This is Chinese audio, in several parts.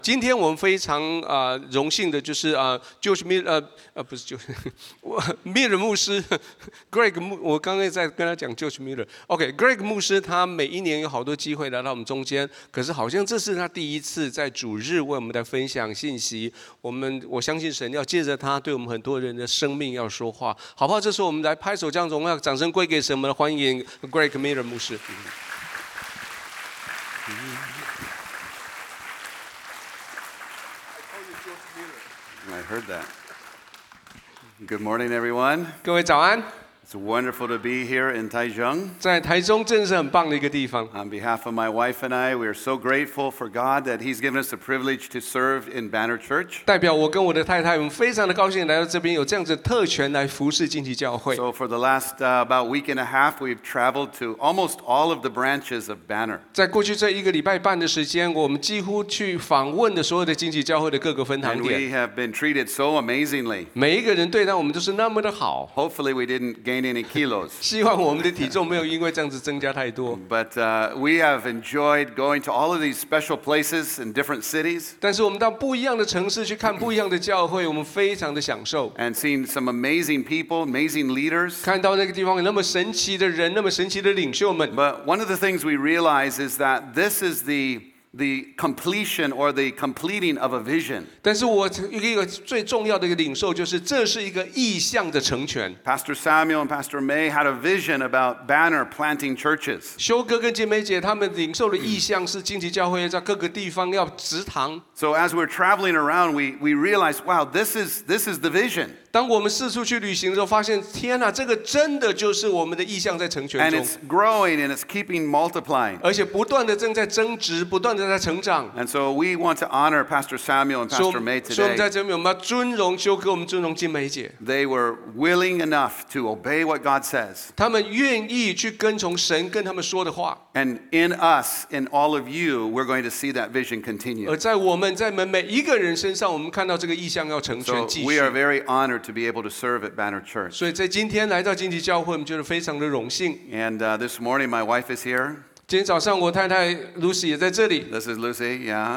今天我們非常榮幸的就是George Miller 不是Miller 牧師 Greg 我剛才在跟他講 George Miller。Greg 牧師他每一年有好多機會來到我們中間，可是好像這是他第一次在主日為我們來分享信息。我相信神要借着他對我們很多人的生命要說話，好不好？這時候我們來拍手將榮耀掌聲歸給神，我們歡迎 Greg Miller 牧師。 I heard that. Good morning, everyone. 各位早安。 It's wonderful to be here in Taichung. 在台中真是很棒的一個地方。 On behalf of my wife and I, we are so grateful for God that He's given us the privilege to serve in Banner Church. 代表我跟我的太太，我們非常的高興來到這邊，有這樣子的特權來服侍荊棘教會。 So for the last about week and a half, we've traveled to almost all of the branches of Banner. 在過去這一個禮拜半的時間，我們幾乎去訪問的所有的荊棘教會的各個分堂 And 點。 we have been treated so amazingly. 每一個人對待我們都是那麼的好。 Hopefully, we didn't gain any kilos. 希望我們的體重沒有因為這樣子增加太多。 But we have enjoyed going to all of these special places in different cities. 但是我們到不一樣的城市去看不一樣的教會，我們非常的享受。 And seeing some amazing people, amazing leaders. 看到那個地方有那麼神奇的人，那麼神奇的領袖們。 But one of the things we realize is that this is the completion or the completing of a vision. 但是我一個最重要的一個領受就是这是一個意象的成全。 Pastor Samuel and Pastor May had a vision about Banner planting churches. 修哥跟姐妹姐他们領受的意象是荊棘教會在各個地方要植堂。 So as we're traveling around, we realize, wow, this is the vision. 當我們四處去旅行的時候，發現天哪，這個真的就是我們的意象在成全中。 And it's growing and it's keeping multiplying. 而且不斷的正在增值，不斷的在成長。 And so we want to honor Pastor Samuel and Pastor May 所以我們在 today. 這邊我們要尊榮修哥，我們尊榮金梅姐。 They were willing enough to obey what God says. 他們願意去跟從神跟他們說的話。 And in us, in all of you, we're going to see that vision continue. 而在我們每一個人身上，我們看到這個意象要成全 So 繼 we are 續。 very honored to be able to serve at Banner Church. 所以在今天來到荊棘教會，我們覺得非常的榮幸。 And this morning, my wife is here. 今天早上我太太 Lucy 也在這裡。 This is Lucy, yeah.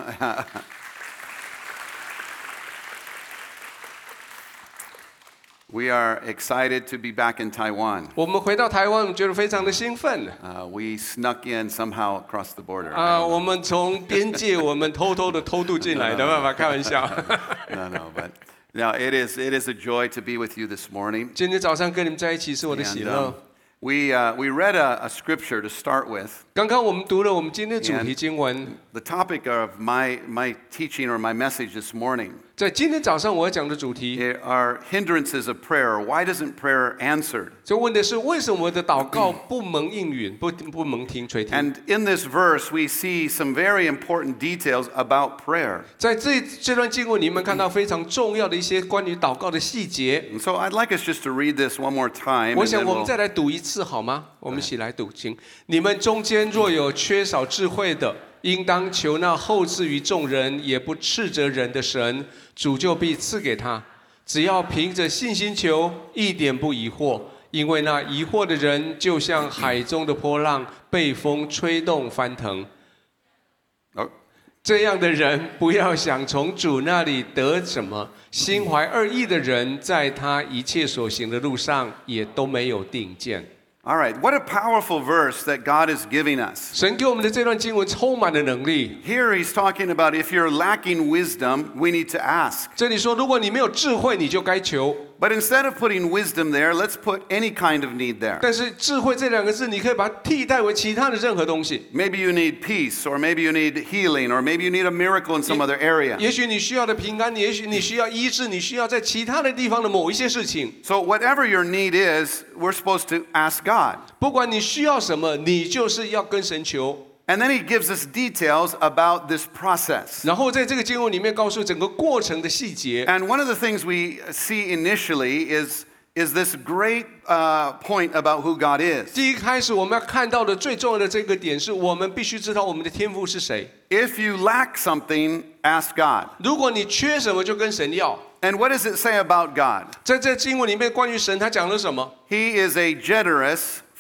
We are excited to be back in Taiwan. 我們回到台灣，我們覺得非常的興奮。 We snuck in somehow across the border. 我們從邊界我們偷偷的偷渡進來的，沒辦法開玩笑。 No, but now it is a joy to be with you this morning. 今天早上跟你們在一起是我的喜樂。 We read a scripture to start with. 剛剛我們讀了我們今天的主題經文。 The topic of my teaching or my message this morning. 在今天早上我要講的主題 are hindrances of prayer. Why isn't prayer answered? 就問的是為什麼我的禱告不蒙應允，不蒙聽垂聽。 And in this verse, we see some very important details about prayer. 在這段經文裡面看到非常重要的一些關於禱告的細節。 And so I'd like us just to read this one more time. 我想我們再來讀一次好嗎？我們一起來讀，請你們中間若有缺少智慧的，應當求那厚賜於眾人，也不斥責人的神，主就必賜給他。只要憑着信心求，一點不疑惑，因為那疑惑的人，就像海中的波浪，被風吹動翻騰。這樣的人不要想從主那裡得什麼，心懷二意的人，在他一切所行的路上，也都沒有定見。 All right, what a powerful verse that God is giving us. 神給我們的這段經文充滿了能力。 Here he's talking about if you're lacking wisdom, we need to ask. 這裡說，如果你沒有智慧，你就該求。 But instead of putting wisdom there, let's put any kind of need there. 但是智慧這兩個字，你可以把它替代為其他的任何東西。 Maybe you need peace, or maybe you need healing, or maybe you need a miracle in some other area. 也許你需要的平安，也許你需要醫治，你需要在其他的地方的某一些事情。 So whatever your need is, we're supposed to ask God. 不管你需要什麼，你就是要跟神求。 And then he gives us details about this process. 然後在這個經文裡面告訴整個過程的細節。 And one of the things we see initially is this great point about who God is. 第一開始我們要看到的最重要的這個點是，我們必須知道我們的天父是誰。 If you lack something, ask God. 如果你缺什麼，就跟神要。 And what does it say about God? 在這經文裡面，關於神，他講了什麼？ He is a generous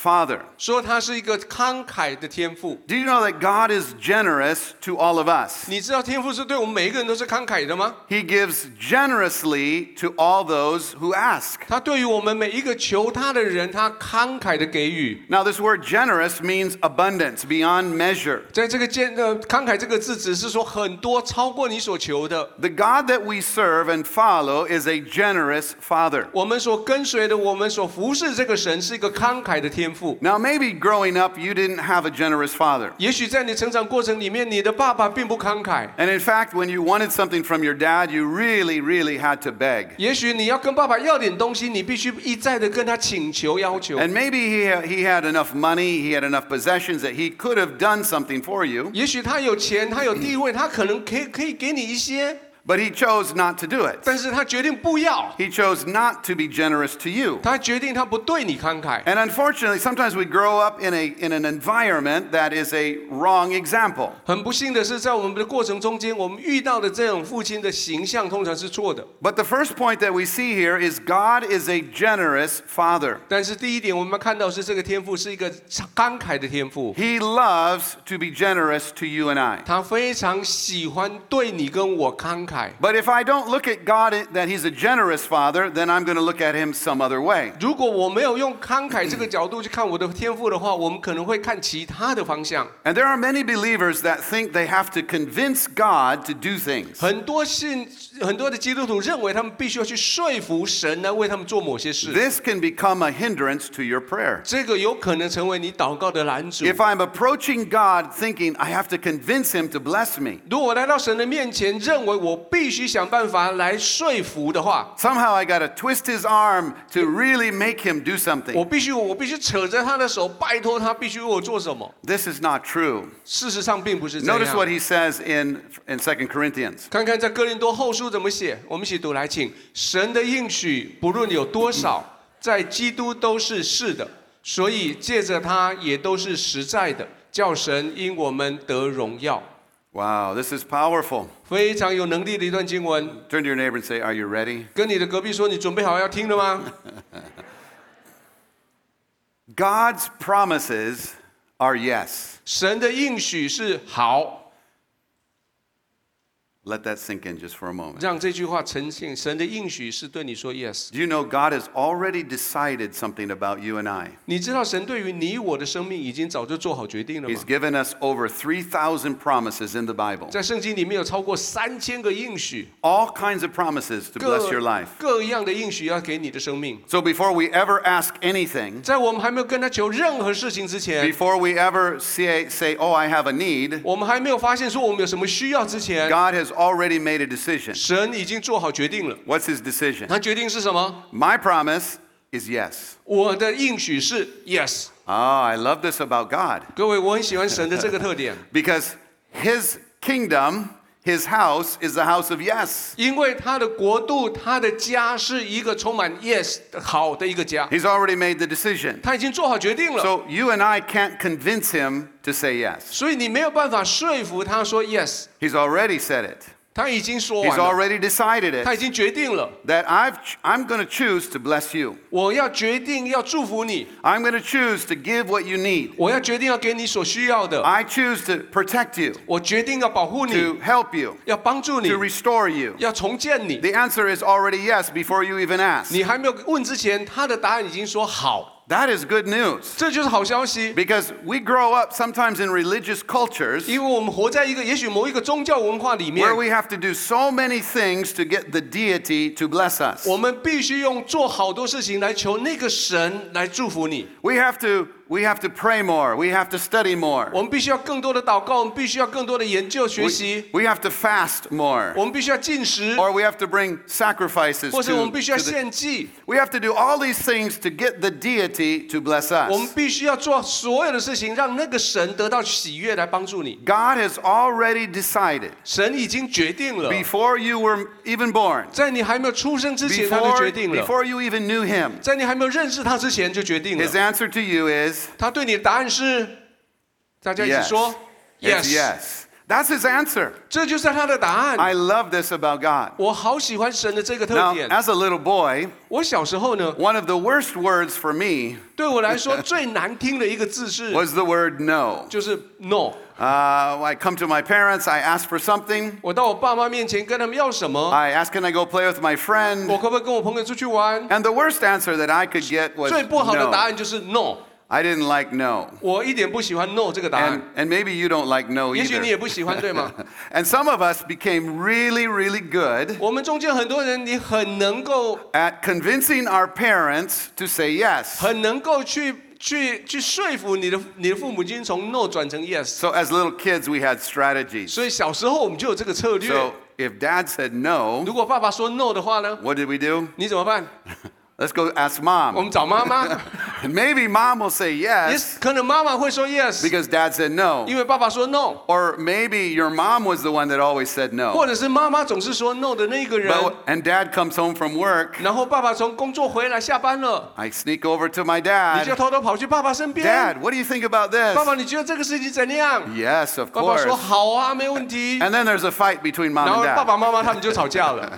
Father. 說他是一個慷慨的天父。 Do you know that God is generous to all of us? 你知道天父是對我們每一個人都是慷慨的嗎？ He gives generously to all those who ask. 他對於我們每一個求他的人，他慷慨的給予。 Now, this word generous means abundance, beyond measure. 在這個慷慨這個字，只是說很多超過你所求的。 The God that we serve and follow is a generous Father. 我們所跟隨的，我們所服侍這個神，是一個慷慨的天父。 Now, maybe growing up, you didn't have a generous father. 也許在你成長過程裡面，你的爸爸並不慷慨。 And in fact, when you wanted something from your dad, you really, really had to beg. 也許你要跟爸爸要點東西，你必須一再的跟他請求要求。 And maybe he had enough money, he had enough possessions that he could have done something for you. 也許他有錢，他有地位，他可能可以給你一些， But he chose not to do it. 但是他決定不要。 He chose not to be generous to you. 他決定他不對你慷慨。 And unfortunately, sometimes we grow up in an environment that is a wrong example. 很不幸的是，在我们的过程中间，我们遇到的這種父親的形象通常是錯的。 But the first point that we see here is God is a generous father. 但是第一點，我们要看到是這個天父是一個慷慨的天父， He loves to be generous to you and I. 他非常喜歡對你跟我慷慨。 But if I don't look at God that He's a generous father, then I'm going to look at Him some other way. 如果我沒有用慷慨這個角度去看我的天父的話，我們可能會看其他的方向。 And there are many believers that think they have to convince God to do things. 很多的基督徒認為他們必須要去說服神來為他們做某些事。 This can become a hindrance to your prayer. 這個有可能成為你禱告的攔阻。 If I'm approaching God thinking I have to convince Him to bless me, 如果我來到神的面前，認為我必須想辦法來說服的話， somehow I got to twist His arm to really make Him do 我 something. 必須扯着他的手，拜託他必須為我做什麼。 This is not true. 事實上並不是這 Notice what 樣。 He says in 2 Corinthians. 看看在哥林多後書怎麼寫，我們一起讀來，請。神的應許不論有多少，在基督都是是的，所以借着他也都是實在的，叫神因我們得榮耀。 Wow, this is powerful. 非常有能力的一段經文。 Turn to your neighbor and say, are you ready? 跟你的隔壁說，你準備好要聽了嗎？ God's promises are yes. 神的應許是好。 Let that sink in just for a moment. 讓這句話呈現，神的應許是對你說 yes。 Do you know God has already decided something about you and I? 你知道神對於你我的生命已經早就做好決定了嗎 He's？ given us over 3,000 promises in the Bible. 在聖經裡面有超過3000個應許， All kinds of promises to bless your life. 各樣的應許要給你的生命。 So before we ever ask anything, 在我們還沒有跟他求任何事情之前， before we ever say, oh, I have a need, 我們還沒有發現說我們有什麼需要之前， God has already made a decision. 神已經做好決定了。 What's His decision? 他決定是什麼？ My promise is yes. 我的應許是 yes。 Ah, I love this about God. 各位，我很喜歡神的這個特點， Because His kingdom, His house, is the house of yes. 因為他的國度、他的家是一個充滿 yes 好的一個家。 He's already made the decision. 他已經做好決定了， So you and I can't convince Him to say yes. 所以你沒有辦法說服他說 yes。 He's already said it. 他已經說 He's 完了， already decided 他已 it. 經決定了， That I'm going to choose to bless you. 我要決定要祝福你， I'm going to choose to give what you need. 我要決定要給你所需要的， I choose to protect you, 我決定要保護你， to help you, 要幫助你 to，restore you. 要重建你。 The answer is already yes before you even ask. 你還沒有問之前，他的答案已經說好， That is good news. 這就是好消息。 Because we grow up sometimes in religious cultures 因為我們活在一個也許某一個宗教文化裡面 where，we have to do so many things to get the deity to bless us. 我們必須用做好多事情來求那個神來祝福你。 We have to pray more. We have to study more. 我們必須要更多的禱告，我們必須要更多的研究學習， We have to fast more. 我們必須要禁食， Or we have to bring sacrifices 或者我們 to 必須要 the, 獻祭。 we have to do all these things to get the deity to bless 我們 us. 必須要做所有的事情，讓那個神得到喜悅來幫助你。 God has already decided 神已經決定了， before you were even born, 在你還沒有出生之前，他就決定了； before you even knew Him. 在你還沒有認識他之前就決定 His 了。 answer to you is 他對你的答案是，大家一起 yes. 說 It's yes. That's his answer. 這就是他的答案。 I love this about God. 我好喜歡神的這個特 Now, 點。 as a little boy, 我小時候呢， one of the worst words for me 對我來說最難聽的一個字是， was the word no. 就是 no。 I come to my parents, I ask for something. 我到我爸媽面前跟他們要什麼， I ask, can I go play with my friend? 我可不可以跟我朋友出去玩？ And the worst answer that I could get was 最不好的答 no. 案就是 no。 I didn't like no. 我一點不喜歡 no 這個答案。 And maybe you don't like no 也許你 either. 也不喜歡，對嗎？ And some of us became really, really good 我們中間很多人，你很能夠 at convincing our parents to say yes. 很能夠去說服你的父母親從 no 轉成 yes。 So as little kids, we had strategies. 所以小時候我們就有這個策略。 So if dad said no, 如果爸爸說 no 的話呢， what did we do? 你怎麼辦？ Let's go ask 我 mom. 們找媽媽。 Maybe mom will say 也 yes 可能媽媽會說 yes， because dad said no. 因為爸爸說 no， Or maybe your mom was the one that always said 或 no. 者是媽媽總是說 no 的那個人。 And dad comes home from work. 然後爸爸從工作回來下班了， I sneak over to my 你就 dad. 偷偷跑去爸爸身邊。 Dad, what do you think about 爸 this? 爸，你覺得這個事情怎樣？ Yes, of 爸爸 course. 說好啊，沒問題。 And then there's a fight between 然 mom 後 and 爸 dad. 爸媽媽他們就吵架了。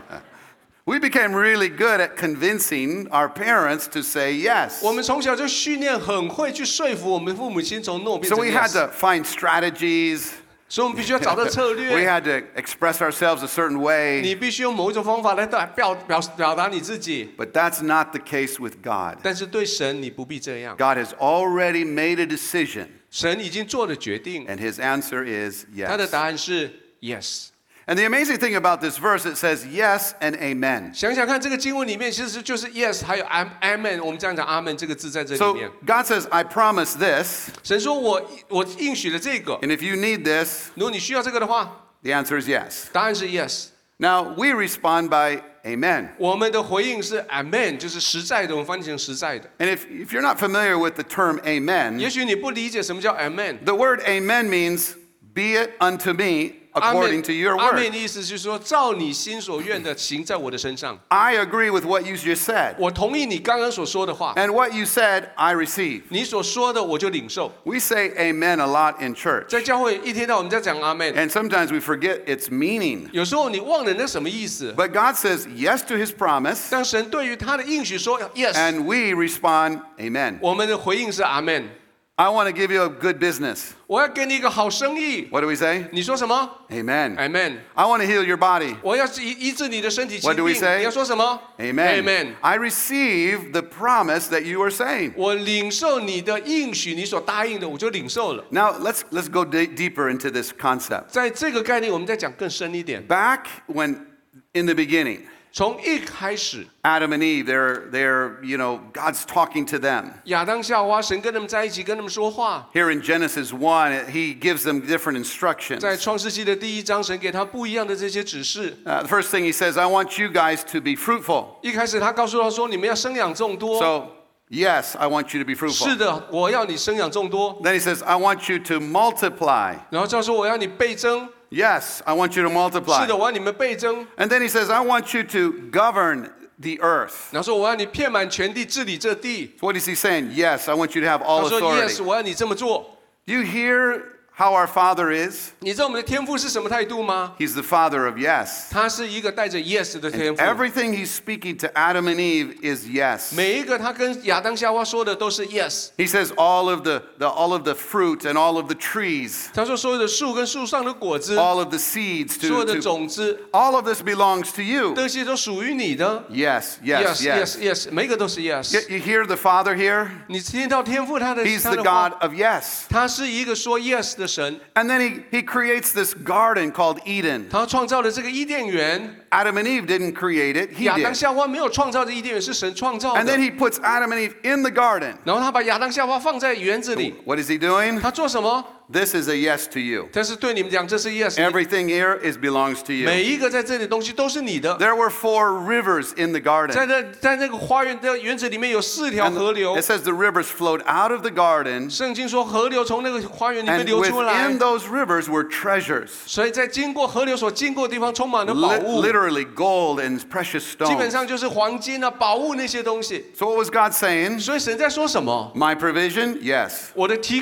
We became really good at convincing our parents to say yes. 我們從小就訓練很會去說服我們父母親從 no 變 So 成 we had yes， to find strategies. 所以我們必須要找到策 We 略。 had to express ourselves a certain way. 你必須用某一種方法來表達你自己。 But that's not the case with God. 但是對神你不必這樣， God has already made a decision, 神已經做了決定， and his answer is 他的 yes. 答案是 yes。 And the amazing thing about this verse, it says yes and amen. 想想看，這個經文裡面其實就是 yes， 還有 amen。我們這樣講 amen 這個字在這裡 So 面。 God says, I promise this, 神說我應許了這個， and if you need this, 如果你需要這個的話， the answer is yes. 答案是 yes。 Now, we respond by amen. 我們的回應是 amen， 就是實在的，我們翻譯成實在的。 And if you're not familiar with the term 也 amen, 許你不理解什麼叫 amen。 the word amen means, be it unto me according to your 阿 word. 門的意思就是说，照你心所願的行在我的身上。 I agree with what you just said. 我同意你剛剛所說的話， And what you said, I receive. 你所說的我就領受。 We say amen a lot in church. 在教會一天到晚在講阿門， And sometimes we forget its meaning. 有时候你忘了那什麼意思。 But God says yes to his promise, 但神對於他的應許說 yes， and we respond amen. 我們的回應是阿門。 I want to give you a good business. 我要給你一個好生意， What do we say? 你說什麼 Amen. ？Amen。 I want to heal your body. 我要醫治你的身體疾 What do we 病， say? 你要說什麼 Amen. Amen。 I receive the promise that you are saying. 我領受你的應許，你所答應的，我就領受了。 Now, let's go deeper into this concept. 在這個概念，我們再講更深一點。 Back when, in the beginning, 從一開始， Adam and Eve, they're God's talking to them. 亞當夏娃，神跟他們在一起，跟他們說話。 Here in Genesis 1, he gives them different instructions. 在創世紀的第1章，神給他不一樣的這些指示。 The first thing he says, I want you guys to be fruitful. 一開始他告訴他說：“你們要生養眾多。” So, yes, I want you to be fruitful. 是的，我要你生養眾多。 Then he says, I want you to multiply. 然後他說：“我要你倍增。” Yes, I want you to 是 multiply. 的，我要你們倍增。 And then he says, I want you to govern the earth. 然後說：“我要你遍滿全地，治理這地。” So what is he saying? Yes, I want you to have 他 all 說 authority. ：“Yes， 我要你這麼做。” You hear how our Father is? 你知道我們的天父是什麼態度嗎？ He's the Father of yes. 他是一個帶着 yes 的天父。 Everything he's speaking to Adam and Eve is yes. 每一個他跟亞當夏娃說的都是 yes。 He says all of the fruit and all of the trees, 他說所有的樹跟樹上的果子， all of the seeds 所有的 to 種子， all of this belongs to you. 这些都屬於你的。 Yes, yes, yes. yes， 每一個都是 yes。 You hear the Father here? 你听到天父他的 He's 他 the 的話 God，of yes. 他是一個說 yes 的神。 And then he creates this garden called Eden. 他創造了這個伊甸園， Adam and Eve didn't create it, he 亞當 did. 夏娃沒有創造的伊甸園，是神創造 And 的 then。he puts Adam and Eve in the garden. 然後他把亞當夏娃放在園子裡， What is he doing? 他做什麼？ This is a yes to you. 但是對你們講，這是 yes。 Everything here belongs to you. 每一個在這裡的東西都是你的。 There were 4 rivers in the garden. 在那個花園的園子裡面有4條 And 河流 it。says the rivers flowed out of the garden, 聖經說河流從那個花園裡面 and 流出來 within，those rivers were treasures. 所以在經過河流所經過的地方充滿了寶物， Literally gold and precious 基本 stones. 上就是黃金啊、寶物那些東西。 So what was God saying? 所以神在說什麼？ My provision? Yes. 我的提供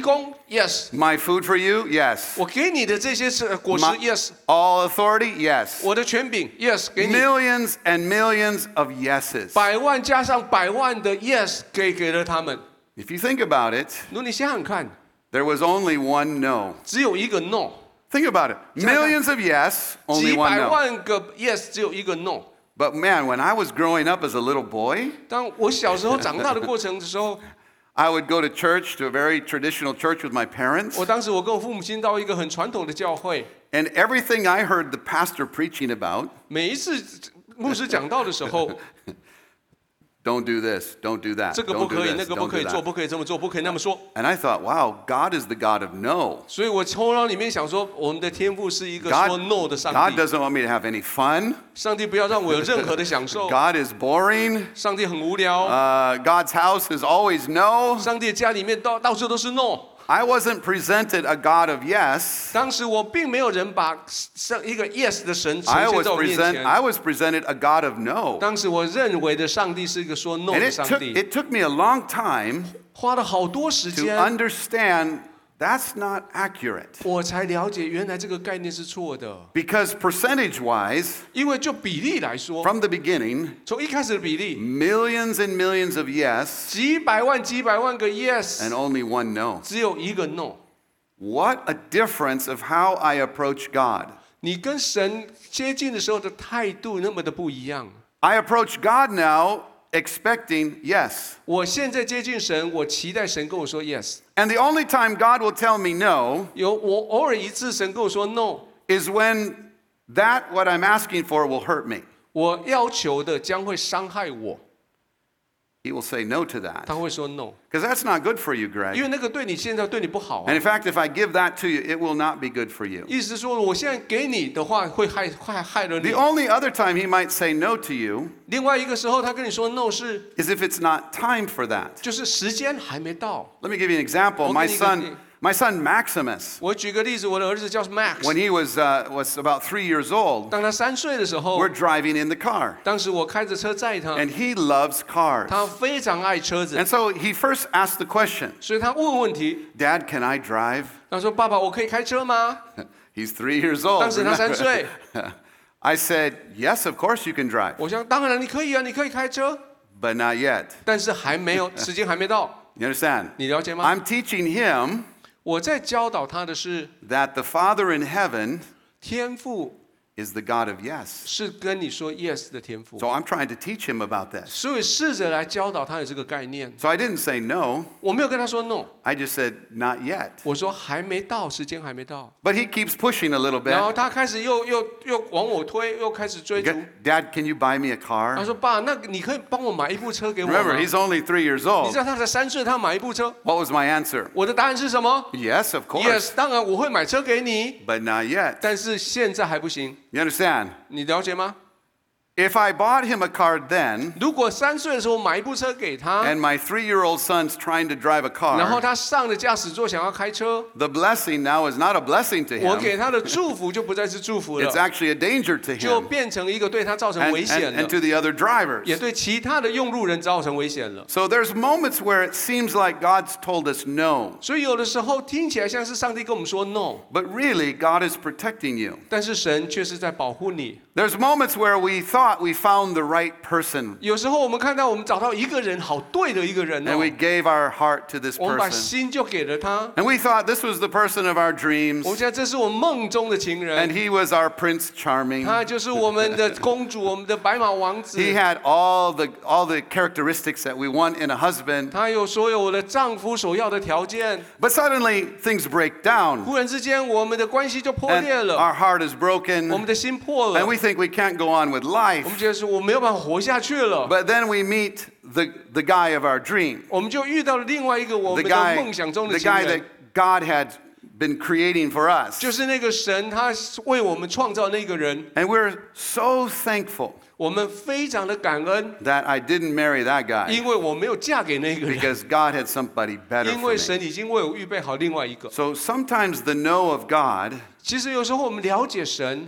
，yes。 My food for you, yes. 我給你的這些是果實 My- ，yes。 All authority, yes. 我的權柄 ，yes， 給你。 Millions and millions of yeses. 百萬加上百萬的 yes 給了他們。 If you think about it, 如果你想想看， there was only one no. 只有一個 no， Think about it. Millions of yes, only 幾 one 百 no. 萬個 yes 只有一個 no。 But man, when I was growing up as a little boy, 當我小時候長大的過程的時候， I would go to church, to a very traditional church with my parents. 我当時我跟我父母親到一個很傳統的教會， And everything I heard the pastor preaching about, 每一次牧師講道的時候， don't do this, don't do that, 這個不 don't do 可以，那 this, 個不 don't 可 do 以做， that. 不可以這麼做，不可以那麼說。 And I thought, wow, God is the God of no. 所以我頭腦裡面想說，我們的天父是一個說 no 的上 God 帝。 doesn't want me to have any fun. 上帝不要讓我有任何的享受。 God is boring. 上帝很無聊。 God's house is always no. 上帝的家裡面到處都是 no。 I wasn't presented a God of yes. 當時我並沒有人把一個 yes 的神呈 I 現 was 在我面前。 presented a God of no. 當時我認為的上帝是一個說 no And 的上帝， it took me a long time 花了好多時 to 間， understand that's not accurate. 我才了解原來這個概念是錯的。 Because percentage-wise, 因為就比例來說， from the beginning, 從一開始的比例， millions and millions of yes 幾百萬個 yes， and only one no. 只有一個 no。 What a difference of how I approach God. 你跟神接近的時候的態度那麼的不一樣。 I approach God now expecting yes. 我現在接近神，我期待神跟我說 yes。 And the only time God will tell me no 我偶爾一次神跟我說 no， is when what I'm asking for will hurt me. 我要求的將會傷害我， He will say no to that. 他會說 no， Because that's not good for you, 因 Greg. 為那個對你現在對你不好啊 And。in fact, if I give that to you, it will not be good for you. 意思是說，我現在給你的話會害了 The 你。 only other time he might say no to you 另外一個時候，他跟你說 no 是 is if it's not time for that. 就是時間還沒到。 Let me give you an example. My son Maximus, 我舉個例子，我的兒子叫 Max， when he was about 3 years old, 當他3歲的時候 we're，driving in the car. 當時我開着車載他， And he loves cars. 他非常愛車子， And so he first asked the question, 所以他問問題， Dad, can I drive? 他說：“爸爸，我可以開車嗎 He's 3 years old. 當時他3歲。 I said, yes, of course you can drive, 我想當然你可以啊，你可以開車， but not yet. 但是還沒有，時間還沒到， You understand? 你了解嗎？ I'm teaching him 我在教導他的是 that the Father in heaven 天父 is the God of yes. 是跟你說 yes 的天父， So I'm trying to teach him about this. 所以試着來教導他有這個概念。 So I didn't say no. 我沒有跟他說 no， I just said not yet. 我說還沒到，時間還沒到。 But he keeps pushing a little 然後 bit. 他開始又往我推，又開始追逐。 Dad, can you buy me a 他 car? 說：“爸，那你可以幫我買一部車給我嗎？” Remember, he's only 3 years 你 old. 知道他才3歲，他買一部車。 What was my answer? 我的答案是什麼 Yes, of course. ？Yes，当然我会買車給你， But not yet. 但是現在還不行。 You understand? 你了解嗎？ If I bought him a car then, 如果3歲的時候買一部車給他， and my 3-year-old son's trying to drive a 然後 car, 他上了駕駛座想要開車， the blessing now is not a blessing to 我 him. 給他的祝福就不再是祝福 It's 了， actually a danger to 就 him 變成一個對他造成 and, 危險 and 了， to the other 也 drivers. 對其他的用路人造成危險了。 So there's moments where it seems like God's told us no, 所以有的時候聽起來像是上帝跟我們說 no， but really God is protecting you. 但是神卻是在保護你。 There's moments where we thought we found the right person 有時候我們看到我们找到一個人，好對的一個人 and we 哦， gave our heart to this 我們把 person. 心就給了他。 And we thought this was the person of our 我們 dreams 現在這是我夢中的情 and 人， he was our Prince Charming. 他就是我們的公主，我們的白馬王子。 He had all the characteristics that we want in a husband. 他有所有我的丈夫所要的條件。 But suddenly things break down 忽然之間，我們的關係就破 and 裂了， our heart is 我 broken 們的心破了 and。we think we can't go on with 我 life. 們覺得說我沒有辦法活下去了。 But then we meet the guy of our dream, 我們就遇到了另外一個我 the 們的 guy, 夢想中 the 的情 guy that 人， God had been creating for us. 就是那個神他為我們創造那個人。 And we're so thankful 我們非常的感恩， that I didn't marry that guy 因為我沒有嫁給那個人， because God had somebody better 因 for 為 me. 神已經為我預備好另外一個。 So sometimes the no of God 其實有時候我們了解神，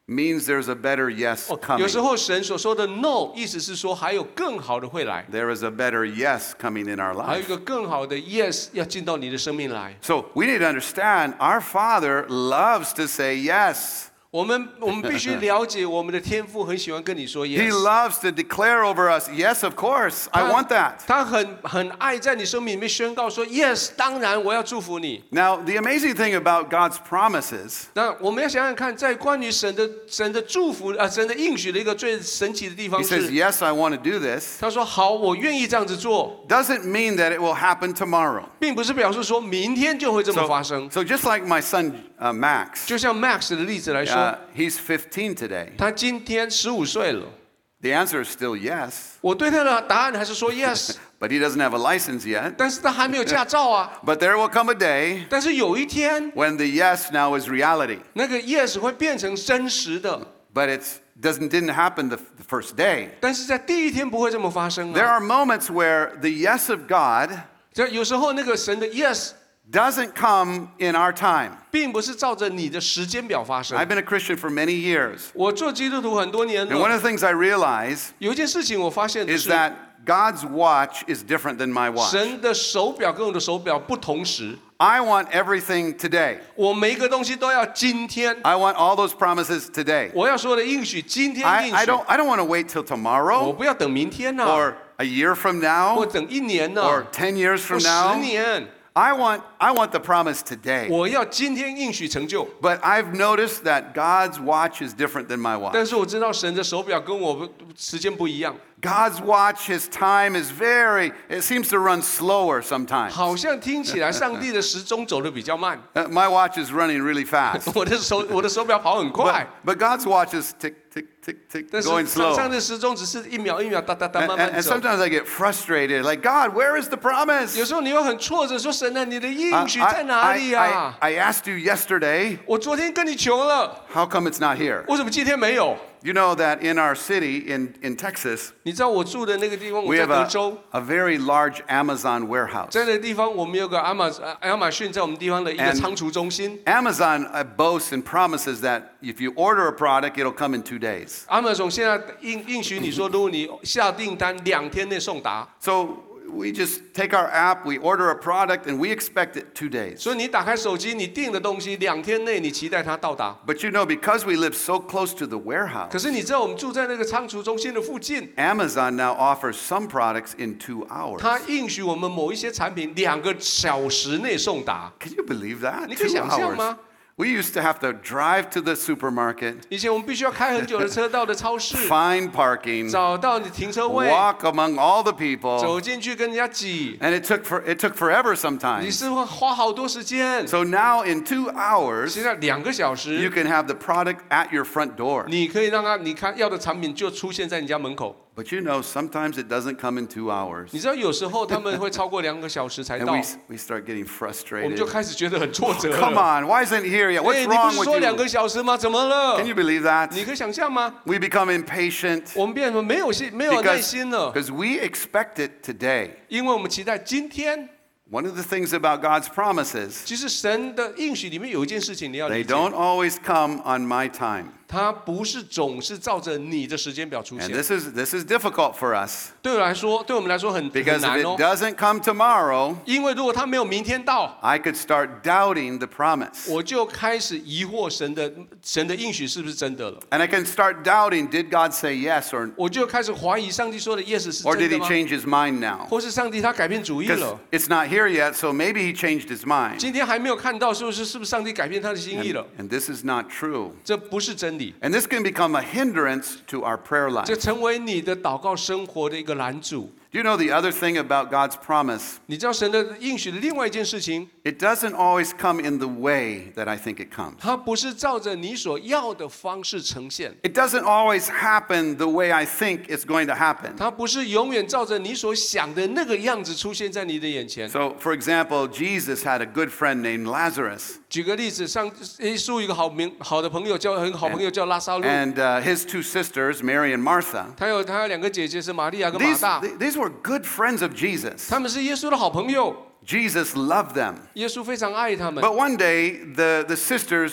means there's a better yes 有 coming. 时候神所说的 no， 意思是说还有更好的会来， There is a better yes coming in our 还有一 life. 个更好的 yes 要进到你的生命来。 So we need to understand our Father loves to say yes. 我们必須了解我們的天父很喜歡跟你說 He yes， loves to declare over us, yes, of course, I want that. 他很愛在你生命裡面宣告說 yes， 當然我要祝福你。 Now, the amazing thing about God's promises 那我們要想想看，在關於神的祝福神的應許的一個最神奇的地方 He says, 是， yes, I want to do this. 他說好，我願意這樣子做， Doesn't mean that it will happen tomorrow. 並不是表示說明天就會這麼發生。 So just like my son Max, 就像 Max 的例子來說， he's 15 today. 他今天15歲了， The answer is still yes, 我對他的答案還是說 yes， but he doesn't have a license yet. 但是他還沒有駕照啊。 But there will come a day 但是有一天， when the yes now is reality. 那個 yes 會變成真實的， But it didn't happen the first day. 但是在第一天不會這麼發生 There 啊。 are moments where the yes of God 就有時候那個神的 yes doesn't come in our time. 並不是照着你的時間表發生 I've。been a Christian for many years. 我做基督徒很多年 And one 了， of the things I realize 有一件事情我發現的 is 是， that God's watch is different than my watch. 神的手表跟我的手表不同时， I want everything today. 我每一個東西都要今天， I want all those promises today. 我要說的應許今天應 I 許， don't want to wait till 我 tomorrow 不要等明天吶、 or a year from 或 now 等1年呢、 or 10 years 或 from 10 now. 年， I want the promise today. 我要今天應許成就。 But I've noticed that God's watch is different than my watch. 但是我知道神的手表跟我時間不一樣， God's watch, his time is it seems to run slower sometimes. 好像聽起來上帝的時鐘走得比較慢， My watch is running really fast. 我的手表跑很快， But God's watch is tick, tick, tick, tick, 但是 going 上 slow. 帝的時鐘只是一秒一秒噠噠噠 And, 慢 and, 慢 and 走。 sometimes I get frustrated, like, God, where is the promise? 有時候你会很挫折，說神啊，你的應 I, 許在哪裡啊？ I asked you yesterday, 我昨天跟你求了， how come it's not here? 為什麼今天沒有？ You know that in our city in Texas, 你知道我住的那個地方，我 we 在 have 德州， a very large Amazon warehouse. 在那個地方我們有個亞馬遜在我們地方的一個 And 倉儲中心。 Amazon boasts and promises that if you order a product, it'll come in 2 days. Amazon 現在應許你說，如果你下訂單2天內送達， So we just take our app, we order a product, and we expect it 2 days. 所以你打開手機，你訂的東西2天內你期待它到達。 But you know, because we live so close to the warehouse, 可是你知道我們住在那個倉儲中心的附近， Amazon now offers some products in 2 hours. 它應許我們某一些產品2個小時內送達。 Can you believe that? 你可以 2 想象嗎？ hours. We used to have to drive to the supermarket, 以前我們必須要開很久的車到的超市， find parking, 找到你停車位， walk among all the people, 走進去跟人家擠， and it took forever 你 sometimes. 是會花好多時間。 So now in 2 hours, 現在2個小 you 時， can have the product at your front door. 你可以讓它，你看要的產品就出現在你家門口。 But you know, sometimes it doesn't come in 2 hours. 你知道有時候他們會超過2個小時才 And 到， we start getting 我們就 frustrated. 開始覺得很挫折 Come 了。 on, why isn't it here yet? 哎， What's 你不 wrong 是 with 說2 you? 個小時嗎？怎麼了 Can？you believe that? 你可以想象嗎？ We become impatient 我們變得沒有耐心了， because we expect it today. 因為我們期待今天。 One of the things about God's promises, 其實神的應許裡面有一件事情你要 they 理解， don't always come on my time. 它不是總是照着你的時間表出 And 現。 this is difficult for us 對我們來說很 because if 難 it 哦。 doesn't come tomorrow, 因為如果他沒有明天到， I could start doubting the promise. 我就開始疑惑神的應許是不是真的了， And I can start doubting, did God say yes or 我就開始懷疑上帝說的 yes 是 did 真的 he 嗎？ change his mind now? 或是上帝他改變主意 Because 了？ it's not here yet, so maybe he changed his mind. 今天還沒有看到，是不是上帝改變他的心意了？ And this is not true. 這不是真理， And this can become a hindrance to our prayer 這 life. 成為你的禱告生活的一個攔阻。 Do you know the other thing about God's promise? 你知道神的應許的另外一件事情， It doesn't always come in the way that I think it comes. 它不是照着你所要的方式呈現， It doesn't always happen the way I think it's going to happen. 它不是永遠照着你所想的那個樣子出現在你的眼前。 So, for example, Jesus had a good friend named Lazarus, 舉個例子，耶穌有一個好的朋友很好朋友叫拉撒路， and his 2 sisters, Mary and Martha. 他有2個姐姐是瑪利亞跟馬大， These were good friends of Jesus. 他們是耶穌的好朋友， Jesus loved them. 耶穌非常愛他們。 But one day, the sisters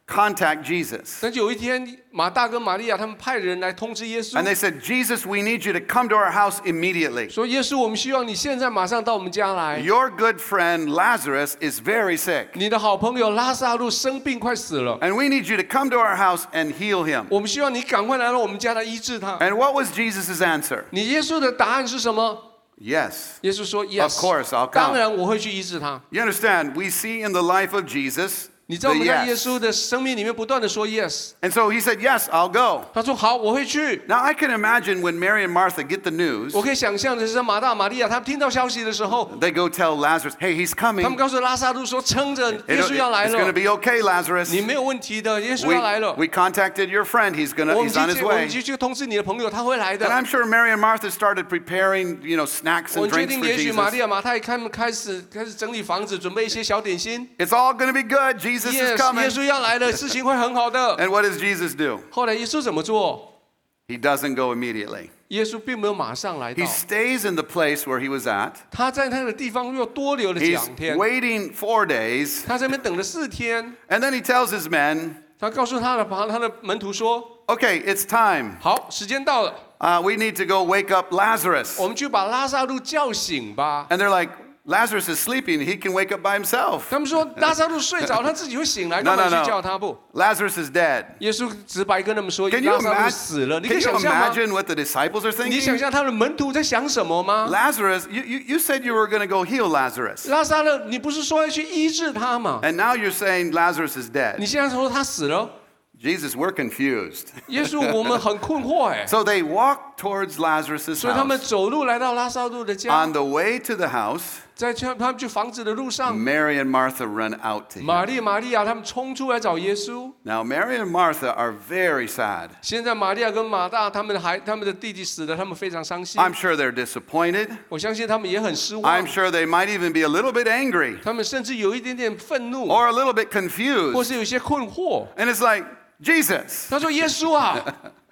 contact Jesus. 但有一天，马大跟玛利亞他们派人來通知耶穌， And they said, Jesus, we need you to come to our house immediately. 說耶穌，我們希望你現在馬上到我們家來。 Your good friend Lazarus is very sick. 你的好朋友拉撒路生病快死了， And we need you to come to our house and heal him. 我們希望你趕快来到我們家来医治他。 And what was Jesus' answer? 你耶穌的答案是什麼？ Yes. 耶穌說 Of course, I'll ：“Yes， 当 come. 然我會去医治他。 You understand? We see in the life of Jesus 你知道我 the 們在耶 yes. 穌的生命裡面不斷的說 yes， And so he said, yes, I'll go. 他說好，我會去。 Now I can imagine when Mary and Martha get the news, 我可以想象的是，马大、玛利亞他们听到消息的時候， they go tell Lazarus, hey, he's 他们 coming. 告訴拉撒路說：撐着，耶穌要來 It's going to 了， be okay, Lazarus. 你沒有問題的，耶穌要來了。 We contacted your friend. He's 我 on his 們 way. 去通知你的朋友，他會來 And 的。 I'm sure Mary and Martha started preparing, snacks 我 and 決 drinks 定， for 也許玛利 Jesus. 亞、馬太他們開始整理房子，準備一些小點心。 It's all going to be good. Jesus is Yes， coming. 耶穌要來了，事情會很好的。 And what does Jesus do? 後來耶穌怎麼做？ He doesn't go immediately. 耶穌並沒有馬上來到 He，stays in the place where he was at. 他在那個地方又多留了 He's 2天， waiting 4 days. 他在那邊等了4天。 And then he tells his men, 他告訴他的門徒說 okay, it's time. 好，時間到了， We need to go wake up Lazarus. 我們去把拉撒路叫醒吧。 And they're like, Lazarus is sleeping. He can wake up by himself. 他們說拉撒路睡着，他自己會醒來， No, 幹嘛 no, 去叫 no. 他不？ Lazarus is dead. 耶穌直白跟他們說， Can you 拉撒路死了。你可以 can you 想象嗎？ imagine what the disciples are 你想 thinking? 象他的門徒在想什麼嗎？ Lazarus, you said you were going to go heal Lazarus. 拉撒路，你不是說要去醫治他嗎？ And now you're saying Lazarus is 你 dead. 現在說他死了， Jesus, we're confused. 耶穌，我們很困惑哎。 So they walk towards Lazarus' 所以他們 house. 走路來到拉撒路的家， On the way to the house, 在他們去房子的路上， Mary and Martha run out to 瑪 him. 利、瑪利亞他們衝出來找耶穌。 Now, Mary and Martha are very sad. 現在瑪利亞跟馬大他們的弟弟死了，他們非常傷心。 I'm sure they're disappointed. 我相信他們也很失 I'm 望， sure they might even be a little bit angry 他们甚至有一點點憤怒， or a little bit 或 confused. 是有些困惑。 And it's like, Jesus, 他說：“耶穌啊，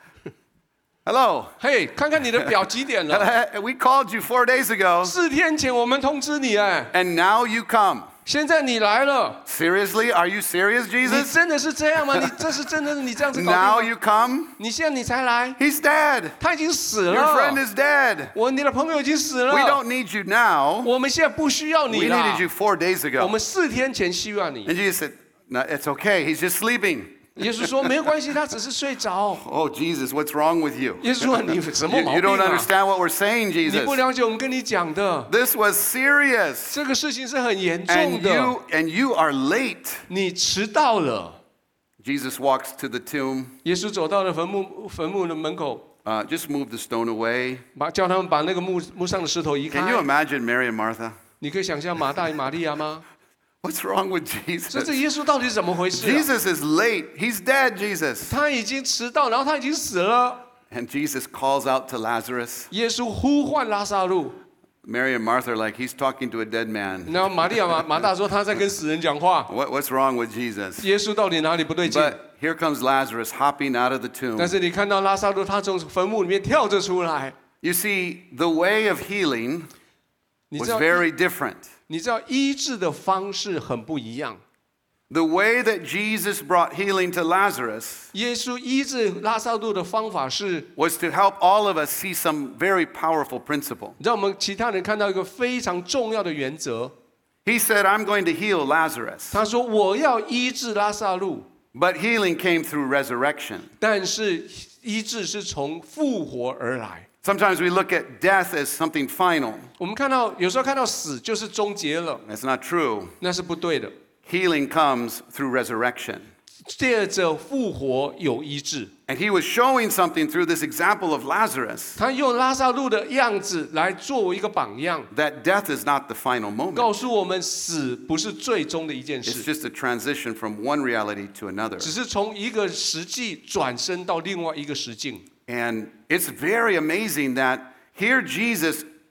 hello. 嘿，看看你的表幾點了？ We called you 4 days ago, 4天前我們通知你，哎， and now you come. 現在你來了， Seriously? Are you serious, 你 Jesus? 真的是這樣嗎？你這是真的是你這樣子搞 Now 定嗎？ you come? 你現在你才來， He's dead. 他已經死 Your friend 了， is dead. 你的朋友已經死 We 了， don't need you now. 我們現在不需要你 We 了 needed，you 4 days 我 ago. 們4天前需要你。” And Jesus said, no, it's okay. He's just sleeping. 耶穌說：“沒有關係，他只是睡着。 Oh, Jesus, what's wrong with you? ” 耶穌說：“你什麼 You, 毛 you 病 don't 啊？ understand what we're saying, 你 Jesus. 不了解我們跟你講的， This was serious. 這個事情是很嚴 And 重的。 you are late. 你遲到了。” Jesus walks to the tomb. 耶穌走到了墳墓的門口， Just move the stone away. 叫他們把那個墓上的石頭移 Can you 開。 imagine Mary and Martha? 你可以想象馬大與瑪利亞嗎？ What's wrong with 所以 Jesus? 這耶穌到底是怎麼回事啊？ Jesus is late. He's dead, Jesus. 他已經遲到，然後他已經死了。 And Jesus calls out to Lazarus. 耶穌呼喚拉撒路， Mary and Martha are like, he's talking to a dead man. 然後瑪利亞馬大說他在跟死人講話。 What's wrong with Jesus? 耶穌到底哪裡不對勁？ But here comes Lazarus hopping out of the tomb. 但是你看到拉撒路，他從墳墓裡面跳着出來。 You see, the way of healing 你 was 知道， very different. 你知道醫治的方式很不一樣。 The way that Jesus brought healing to Lazarus 耶穌醫治拉撒路的方法是， was to help all of us see some very powerful principle. 讓我們其他人看到一個非常重要的原則。 He said, I'm going to heal Lazarus. 他說：“我要醫治拉撒路， But healing came through resurrection. 但是醫治是從復活而來。” Sometimes we look at death as something final. 我們有時候看到死就是終結了， That's not true. 那是不對的。 Healing comes through resurrection. 借着復活有醫治。 And he was showing something through this example of Lazarus 他用拉撒路的樣子來作為一個榜樣， that death is not the final moment. 告訴我們死不是最終的一件 It's 事， just a transition from one reality to another. 只是從一個實際轉身到另外一個實境。 And it's very amazing that here Jesus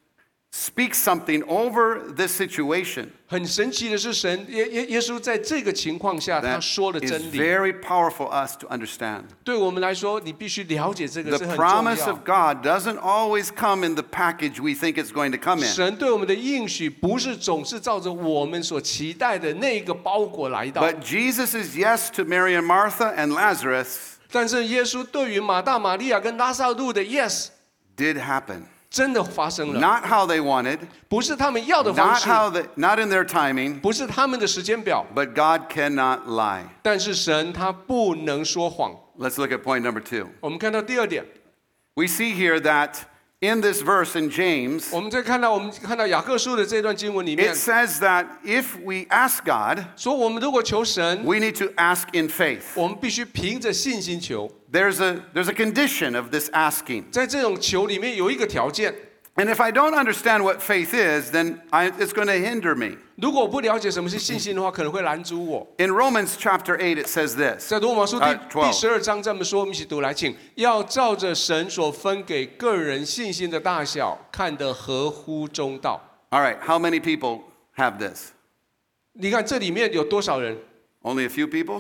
speaks something over this situation 很神奇的是耶稣在这个情况下，他 that 说了 is 真理。 very powerful for us to understand. 对我们来说，你必须了解这个 The 是很重 promise 要 of。God doesn't always come in the package we think it's going to come in. 神对我们的应许，不是总是照着我们所期待的那个包裹来到。 But Jesus' yes to Mary and Martha and Lazarus 但是耶稣对于马大、玛利亚跟拉撒路的 yes， did happen. 真的发生了， Not how they wanted, 不是他们要的方 not 式， not in their timing, 不是他们的时间表， but God cannot lie. 但是神他不能说谎。 Let's look at point number 2. 我们看到第二点， We see here that in this verse in James, 我们看到雅各书的这段經文裡面 it says that if we ask God, 說，我們如果求神， we need to ask in faith. 我們必須憑着信心求。 There's a condition of this asking. 在這種求裡面有一個條件， And if I don't understand what faith is, then it's going to hinder me. 如果我不了解什麼是信心的話，可能會攔阻我。 In Romans chapter 8, it says this. 在羅馬書第 12 12章這麼說，我們一起讀來，請要照着神所分給個人信心的大小，看得合乎中道。 All right, how many people have this? 你看這裡面有多少人？ Only a few people?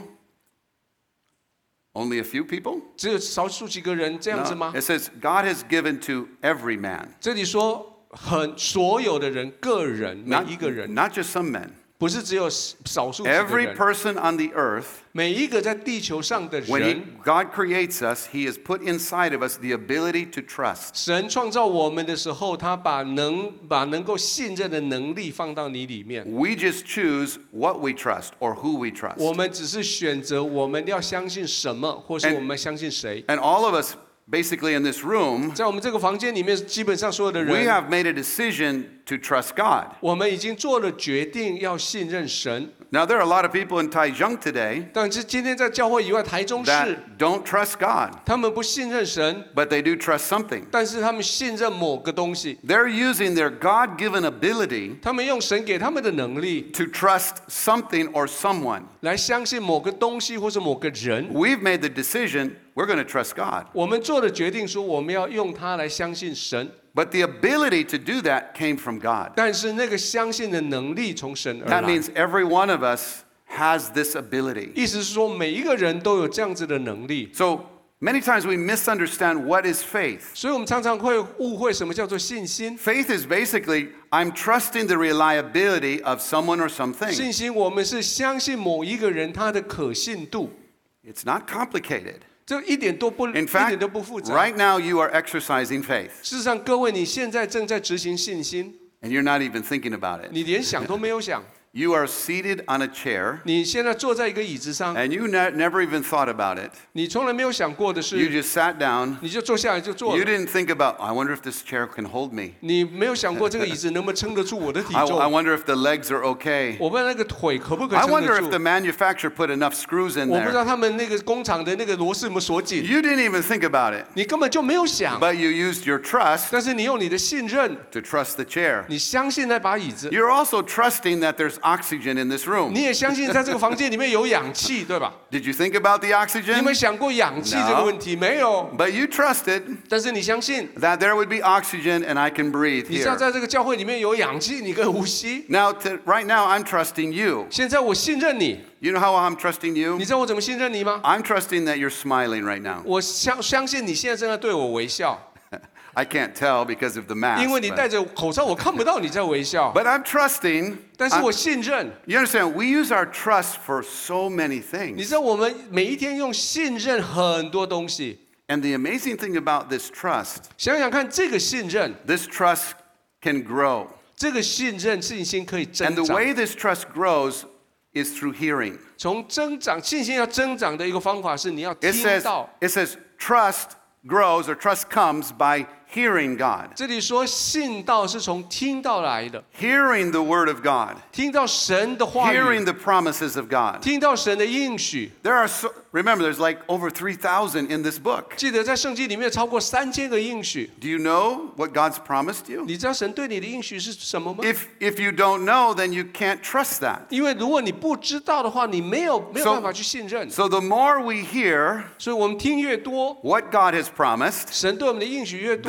Only a few people? 只有少數幾個人這樣子 No. 嗎？ It says God has given to every man. 這裡說所有的人，個人每 Not, 一個人， not just some men. 不是只有少數幾個 Every 人， person on the earth, 每一個在地球上的 when 人。 God creates us, He has put inside of us the ability to trust. 神創造我們的時候，他把能夠信任的能力放到你裡面。 We just choose what we trust or who we trust. 我們只是選擇我們要相信什麼，或是我們相信誰。 And all of us, basically in this room, 在我們這個房間裡面，基本上所有的 we 人， have made a decision to trust God. 我們已經做了決定，要信任神。 Now, there are a lot of people in Taichung today 但是今天在教會以外，台中市， that don't trust God, 他們不信任神， but they do trust something. 但是他們信任某個東西， They're using their God-given ability 他們用神給他們的能力 to trust something or someone. 來相信某個東西或是某個人。 We've made the decision we're going to trust God. 我們做了決定，說我們要用它來相信神。 But the ability to do that came from God. 但是那個相信的能力從神而 That 來。 means every one of us has this ability. 意思是說，每一個人都有這樣子的能力。 So many times we misunderstand what is faith. 所以我們常常會誤會什麼叫做信心。 Faith is basically I'm trusting the reliability of someone or something. 信心，我們是相信某一個人他的可信度， It's not complicated. 這一點都不 In fact, 複雜。 right now you are exercising faith 事實上，各位，你現在正在執行信心， and you're not even thinking about it. 你連想都沒有想。 You are seated on a chair 你現在坐在一個椅子上， and you never even thought about it. 你從來沒有想過的 You 是， just sat down. 你就坐下來就做 You 了。 didn't think about, I wonder if this chair can hold me. 你沒有想過這個椅子能不能撐得住我的體 I 重？ wonder if the legs are okay. 我不知道那個腿可不可以 I 撐 wonder 得 if the 住？ manufacturer put enough screws in 我不知 there. 道他們那個工廠的那個螺絲有沒有鎖緊？ You didn't even think about it. 你根本就沒有想， But you used your trust 但是你用你的信任， to trust the chair. 你相信那把椅子， You're also trusting that there's oxygen in this room. 你也相信在這個房間裡面有氧氣，對吧？ Did you think about the 你有 oxygen? 沒有想過氧氣這個問題？沒有， But you trusted 但是你相信， that there would be oxygen and I can breathe 你知道 here. 在這個教會裡面有氧氣，你可以呼吸。 Now, right now, I'm trusting you. 現在我信任你， You know how I'm trusting you? 你知道我怎麼信任你嗎？ I'm trusting that you're smiling right now. 我相信你現在正在對我微笑， I can't tell because of the mask. 因為你戴着口罩，我看不到你在微笑。 But I'm trusting. 但是我信任， You understand? We use our trust for so many 你 things. 知道我們每一天用信任很多東西。 And the amazing thing about this trust, 想想看，這個信任， this trust can grow. 這個信任信心可以 And 增 the 長。 way this trust grows is through hearing. 從增長信心要增長的一個方法是，你要 It 聽 says, 到。 it says trust grows or trust comes by hearing God. 這裡說信道是從聽到來的， Hearing the word of God. 聽到神的話 Hearing 語， the promises of God. 聽到神的應許。 There are remember, there's like over 3,000 in this book. 記得在聖經裡面超過3000個應許。 Do you know what God's promised you? 你知道神對你的應許是什麼嗎？ If you don't know, then you can't trust that. 因為如果你不知道的話，你沒有辦法去信任。 So the more we hear 所以我們聽越多， what God has promised, 神對我們的應許越多，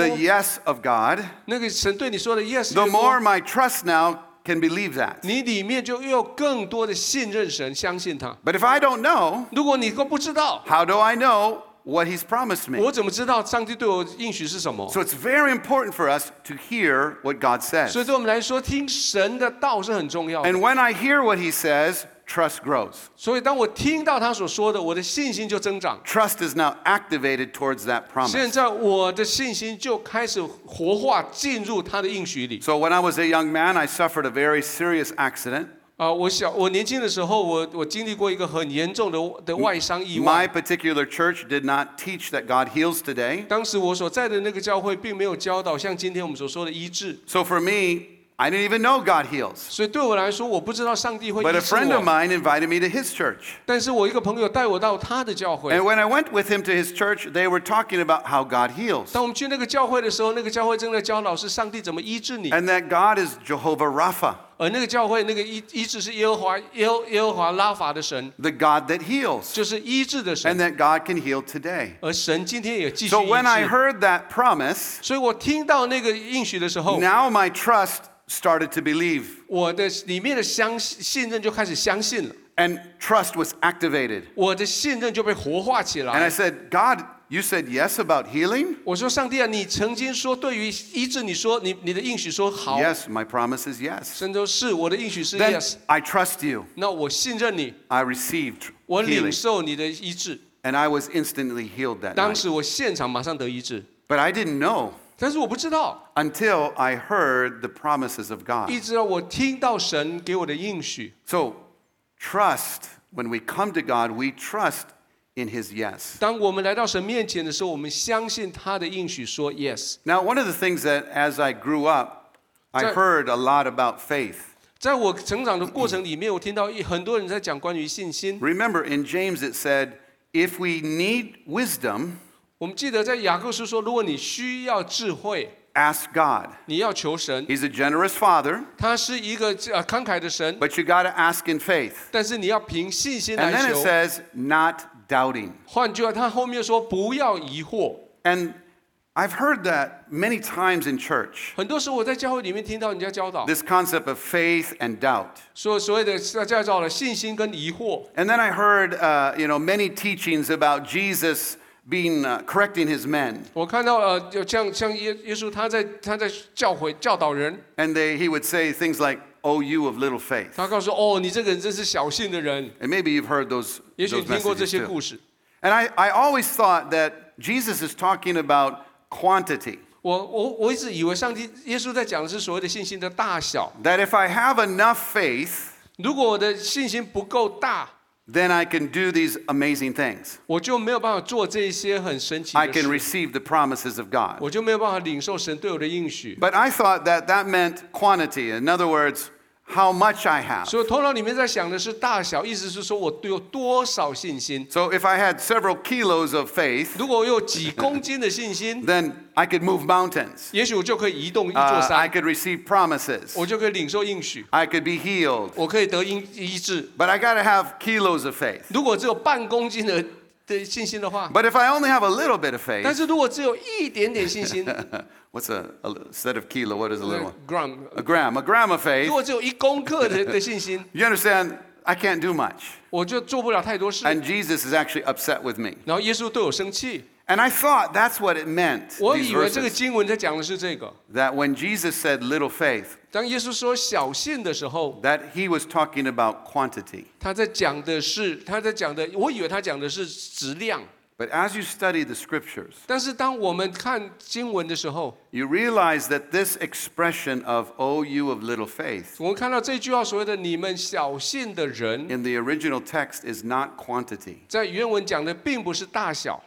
yes of God, 那个神对你說的 yes the 越多 more my trust now can believe that. 你裡面就有更多的信任神，相信他。 But if I don't know, 如果你都不知道， how do I know what He's promised me? 我怎麼知道上帝对我应許是什麼？ So it's very important for us to hear what God 所以 says. 对我們來說，聽神的道是很重要的。 And when I hear what He says, trust grows. 所以當我聽到他所說的，我的信心就增長。 Trust is now activated towards that 現 promise. 在我的信心就開始活化，進入他的應許裡。 So when I was a young man, I suffered a very serious accident. 我年輕的時候，我經歷過一個很嚴重的外傷意 My 外。 particular church did not teach that God heals today. 當時我所在的那個教會並沒有教導像今天我們所說的醫治， So for me, I didn't even know God heals. 所以對我來說，我不知道上帝會 But 醫 a 治 friend of 我。 mine invited me to his church. 但是我一個朋友帶我到他的教會。 And when I went with him to his church, they were talking about how God heals. 當我們去那個教會的時候，那個教會正在教導是上帝怎麼醫治你， And that God is Jehovah Rapha, 而那個教會那個醫治是耶和華拉法的神， the God that heals. 就是醫治的 And 神。 that God can heal today. 而神今天也繼續 So 醫 when I 治。 heard that promise, 所以我聽到那個應許的時候， now my trust started to believe. 我的裡面的信任就開始相信了， And trust was activated. 我的信任就被活化起 And I 來。 said, God, you said yes about healing? 我說上帝啊，你曾經說對於醫治，你說你的應許說好， Yes, my promise is yes. 神說是我的應許是 Then yes， I trust you. 那我信任你， I received 我領 healing. 受你的醫治。 And I was instantly healed that 當 night. 時我現場馬上得醫治， But I didn't know 但是我不知道， until I heard the promises of God. 一直到我聽到神給我的應許。 So trust, when we come to God, we trust in His yes. 當我們來到神面前的時候，我們相信他的應許說 yes。 Now, one of the things that as I grew up, I So- heard a lot about faith. 在我成長的過程裡面，我聽到很多人在講關於信心。 Remember, in James it said, if we need wisdom, 我們記得在雅各書說，如果你需要智慧， ask God. 你要求神， He's a generous Father, 他是一個慷慨的神， but you got to ask in faith. 但是你要憑信心 And 來 then it 求。 says, not doubting. 換句話，他後面說不要疑惑。 And I've heard that many times in church, 很多时候我在教会裡面聽到人家教導， this concept of faith and doubt. 說所謂的叫做了信心跟疑惑。 And then I heard, many teachings about Jesus being correcting his men. 我看到就像耶穌他在教導人， And he would say things like, oh, you of little faith. 他告訴哦，你這個人真是小信的人。 And maybe you've heard those 也許你聽過這 messages 些 too. 故事。 And I always thought that Jesus is talking about quantity. 我一直以為耶穌在講的是所謂的信心的大小。 That if I have enough faith, 如果我的信心不夠大， then I can do these amazing things. 我就沒有辦法做這些很神奇 I 的 can 事， receive the promises of God. 我就沒有辦法領受神對我的應許。 But I thought that meant quantity. In other words, how much I have. 所以頭腦裡面在想的是大小，意思是說我有多少信心。 So if I had several kilos of faith, 如果我有幾公斤的信心， then I could move mountains. 也許我就可以移動一座 I 山， could receive promises. 我就可以領受應許， I could be healed. 我可以得醫治。 But I got to have kilos of faith. 如果只有半公斤的信心的話， But if I only have a little bit of 但 faith, 是如果只有一點點信心 what's instead of kilo, what is a little one? ，gram， A gram of 如 faith. 果只有1公克的信心， You understand? I can't do much. 我就做不了太多事。 And Jesus is actually upset with me. 然後耶穌對我生氣， And I thought that's what it meant, 我 these 以為這個 verses. 經文在講的是這個。 That when Jesus said little faith, 當耶穌說小信的時候， that he was talking about quantity. 他在講的，我以為他講的是質量。 But as you study the scriptures, 但是當我們看經文的時候， you realize that this expression of, oh, you of little faith, 我們看到這句話所謂的你們小信的人， in the original text is not quantity, 在原文講的並不是大小，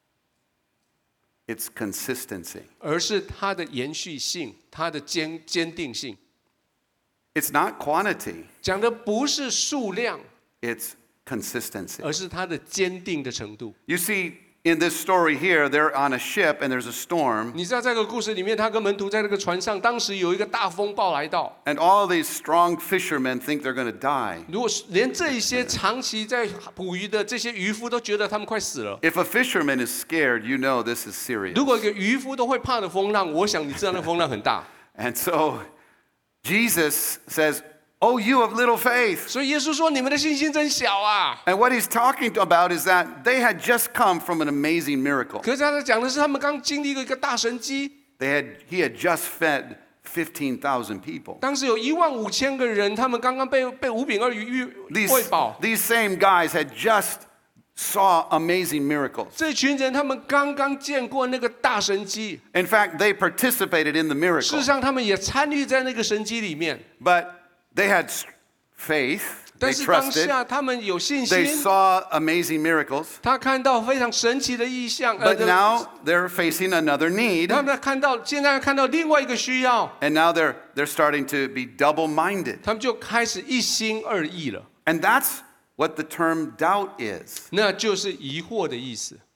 it's consistency. 而是它的延續性，它的堅定性。 It's not quantity, 講的不是數量， it's consistency. 而是它的堅定的程度。 You see, in this story here, they're on a ship and there's a storm. 你知道这个故事裡面，他跟门徒在那个船上，当時有一個大風暴來到。 And all these strong fishermen think they're going to die. 如果連這一些長期在捕魚的這些漁夫都覺得他們快死了。 If a fisherman is scared, you know this is serious. 如果一個漁夫都會怕的風浪，我想你知道那風浪很大。 And so Jesus says, "Oh, you of little faith." 所以耶穌說：“你們的信心真小啊。” And what he's talking about is that they had just come from an amazing miracle. 可是他在講的是他們剛經歷一個大神蹟。 He had just fed 15,000 people. 當時有15000個人，他們剛剛被5餅2魚餵飽。 These same guys had just saw amazing miracles. 這群人他們剛剛見過那個大神蹟。 In fact, they participated in the 事實 miracle. 上，他們也參與在那個神蹟裡面。 But they had faith. 但 They 是當 trusted. 下他們有信 They 心， saw amazing miracles. 他看到非常神奇的異象。 But now they're facing another need. 他們現在看到另外一個需要， And now they're starting to be double-minded. 他們就開始一心二意了。 And that's what the term doubt is. 那就是疑惑的意思。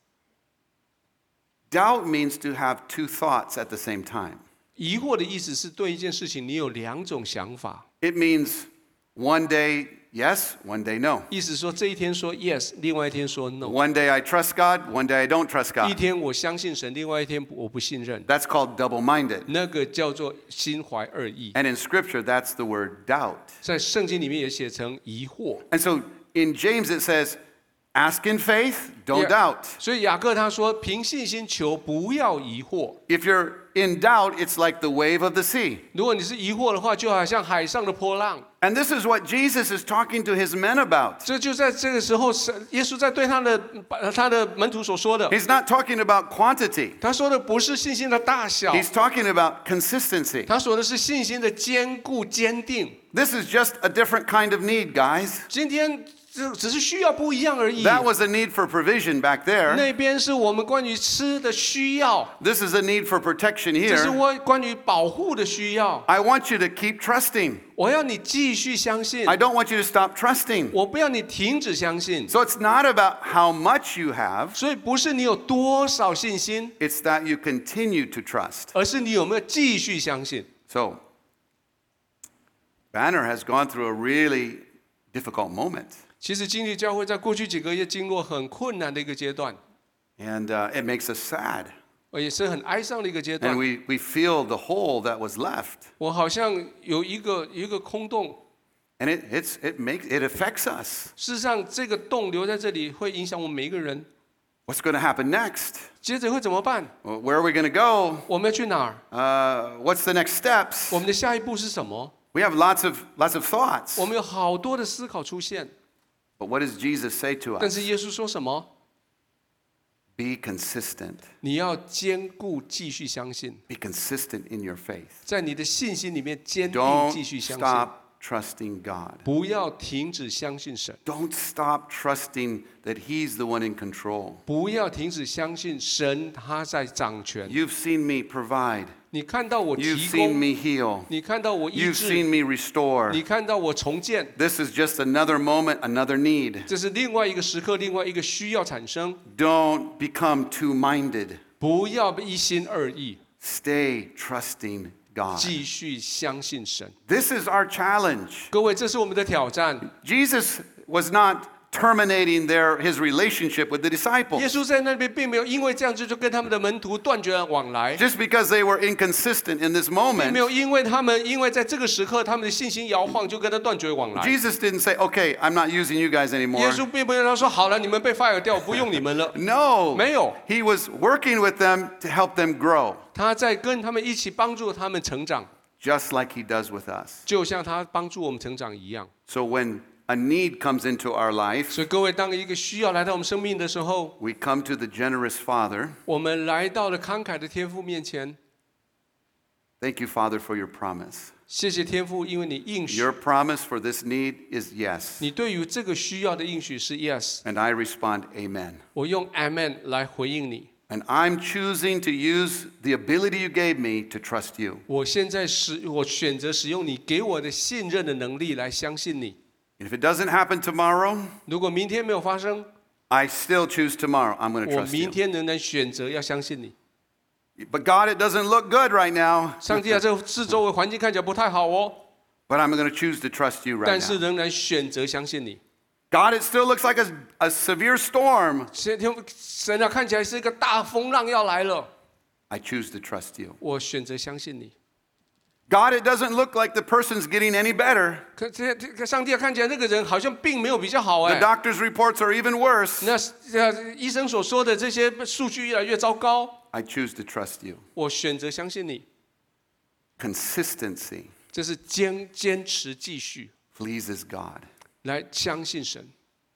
Doubt means to have two thoughts at the same time. 疑惑的意思是對一件事情你有2種想法。 It means one day yes, one day no. 意思說這一天說 yes， 另外一天說 no。 One day I trust God, one day I don't trust 一 God. 天我相信神，另外一天我不信任。 That's called double-minded. 那個叫做心懷二意。 And in Scripture, that's the word doubt. 在聖經裡面也寫成疑惑。 And so in James it says, ask in faith, don't doubt. 所以雅各他說，憑信心求，不要疑惑。 If you're in doubt, it's like the wave of the sea. 如果你是疑惑的話，就好像海上的波浪。 And this is what Jesus is talking to his men about. 這就在這個時候，耶穌在對他的門徒所說的。 He's not talking about quantity. 他說的不是信心的大小， He's talking about consistency. 他說的是信心的堅固堅定。 This is just a different kind of need, guys. 今天只是需要不一樣而已。 That was a need for provision back there. 那邊是我們關於吃的需要， This is a need for protection 這是 here. 我關於保護的需要。 I want you to keep trusting. 我要你繼續相信， I don't want you to stop trusting. 我不要你停止相信。 So it's not about how much you have, 所以不是你有多少信心， it's that you continue to trust. 而是你有沒有繼續相信。 So, Banner has gone through a really difficult moment. 其實經歷教會在過去幾個月經過很困難的一個階段， And it makes us sad. 也是很哀傷的一個階 And 段。 we feel the hole that was left. 我好像有一個空洞， And it affects us. 事實上這個洞留在這裡會影響我們每一個人。 What's going to happen next? 接着會怎麼辦？ Where are we going to go? 我們要去哪兒？ What's the next steps? 我們的下一步是什麼？ We have lots of thoughts. 我們有好多的思考出現， But what does Jesus say to 但 us? 是耶穌說什麼？ Be consistent. 你要堅固，繼續相信， Be consistent in your faith. 在你的信心裡面堅定， Don't 繼續相信， stop trusting God. 不要停止相信神， Don't stop trusting that He's the one in control. 不要停止相信神，他在掌权。 You've seen me provide. 你看到我 You've 提 seen 供， me heal. 你看到我医 You've 治， seen me restore. 你看到我重建， This is just another moment, another need. 這是另外一個時刻，另外一個需要產生。 Don't become two-minded. 不要一心二意， Stay trusting God. 繼續相信神。 This is our challenge. 各位，這是我們的挑戰。 Jesus was not terminating his relationship with the 耶 disciples. 穌在那邊並沒有因為這樣子就跟他們的門徒斷絕了往來， Just because they were inconsistent in this 並 moment, 沒有因為在這個時刻他們的信心搖晃就跟他斷絕往來。 Jesus didn't say, okay, I'm not using you guys 耶 anymore. 穌並沒有說好了，你們被 fire 掉，我不用你們了。 No. 沒有， He was working with them to help them grow, 他在跟他們一起幫助他們成長， just like he does with us. 就像他幫助我們成長一樣。 So when a need comes into our life, 所以各位，當一個需要來到我們生命的時候， we come to the generous Father. 我們來到了慷慨的天父面前。 Thank you, Father, for your promise. 謝謝天父，因為你應許， Your promise for this need is yes. 你對於這個需要的應許是 yes， And I respond, amen. 我用 amen 來回應你。 And I'm choosing to use the ability you gave me to trust you. 我選擇使用你給我的信任的能力來相信你。 And if it doesn't happen tomorrow, 如果明天沒有發生， I still choose tomorrow. I'm going to 我 trust 明 you. 天仍然选擇要相信你。 But God, it doesn't look good right now. 上帝啊，这四周围环境看起来不太好哦， But I'm going to choose to trust you right 但是 now. 仍然选擇相信你。 God, it still looks like a severe storm. 神啊，看起来是一个大风浪要来了， I choose to trust you. 我选擇相信你。 God, it doesn't look like the person's getting any better. 可上帝啊，看起来那个人好像并没有比较好 The 哎。 doctor's reports are even worse. 那医生所说的这些数据越来越糟糕， I choose to trust you. 我选擇相信你。 Consistency 这是坚持继續 pleases God. 來相信神，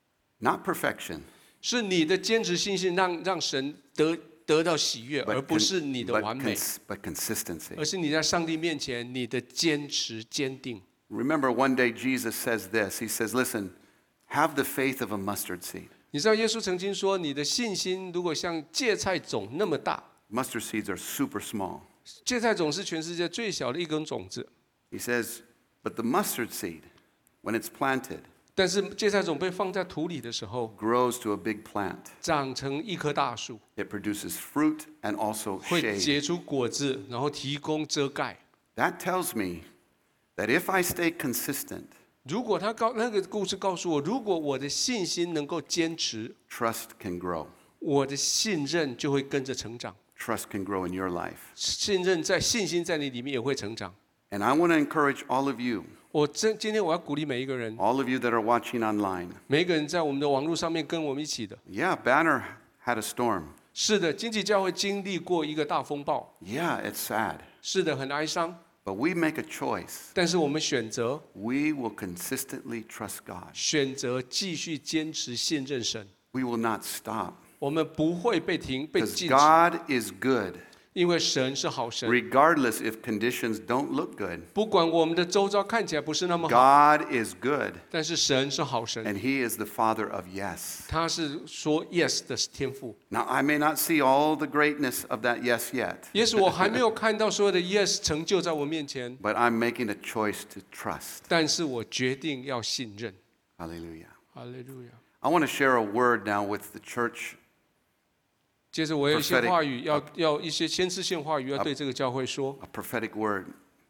Not perfection, 是你的堅持信心讓神得到喜悅，而不是你的完美， but consistency. 而是你在上帝面前你的堅持堅定。 Remember, one day Jesus says this. He says, listen, have the faith of a mustard seed. 你知道耶穌曾經說，你的信心如果像芥菜種那麼大， Mustard seeds are super small. 芥菜種是全世界最小的一根種子， He says, but the mustard seed, when it's planted, 但是芥菜種被放在土裡的時候， grows to a big plant. 長成一棵大樹， It produces fruit and also 會 shade. 結出果子，然後提供遮蓋。 That tells me that if I stay consistent, 如果那個故事告訴我，如果我的信心能夠堅持， trust can grow. 我的信任就會跟着成長。 Trust can grow in your life. 信心在你裡面也會成長。 And I want to encourage all of you, 今天我要鼓勵每一個人， all of you that are watching online. 每一個人在我們的網絡上面跟我們一起的。 Yeah, Banner had a storm. 是的，經濟教會經歷過一個大風暴。 Yeah, it's sad. 是的，很哀傷。 But we make a choice. 但是我們選擇 We will consistently trust God. 繼續堅持信任神， We will not stop. 我們不會被 Because 禁止， God is good, 因為神是好神。 regardless if conditions don't look good. 不管我們的周遭看起來不是那麼好， God is good, 但是神是好神， and He is the Father of yes. 他是說 yes 的天父。 Now, I may not see all the greatness of that yes yet, 也許我還沒有看到所有的 yes 成就在我面前， but I'm making a choice to trust. 但是我決定要信任。 Hallelujah. 哈利路亞。 I want to share a word now with the church. 接着我有一些話語，要一些先知性話語要對這個教會說。 A prophetic word.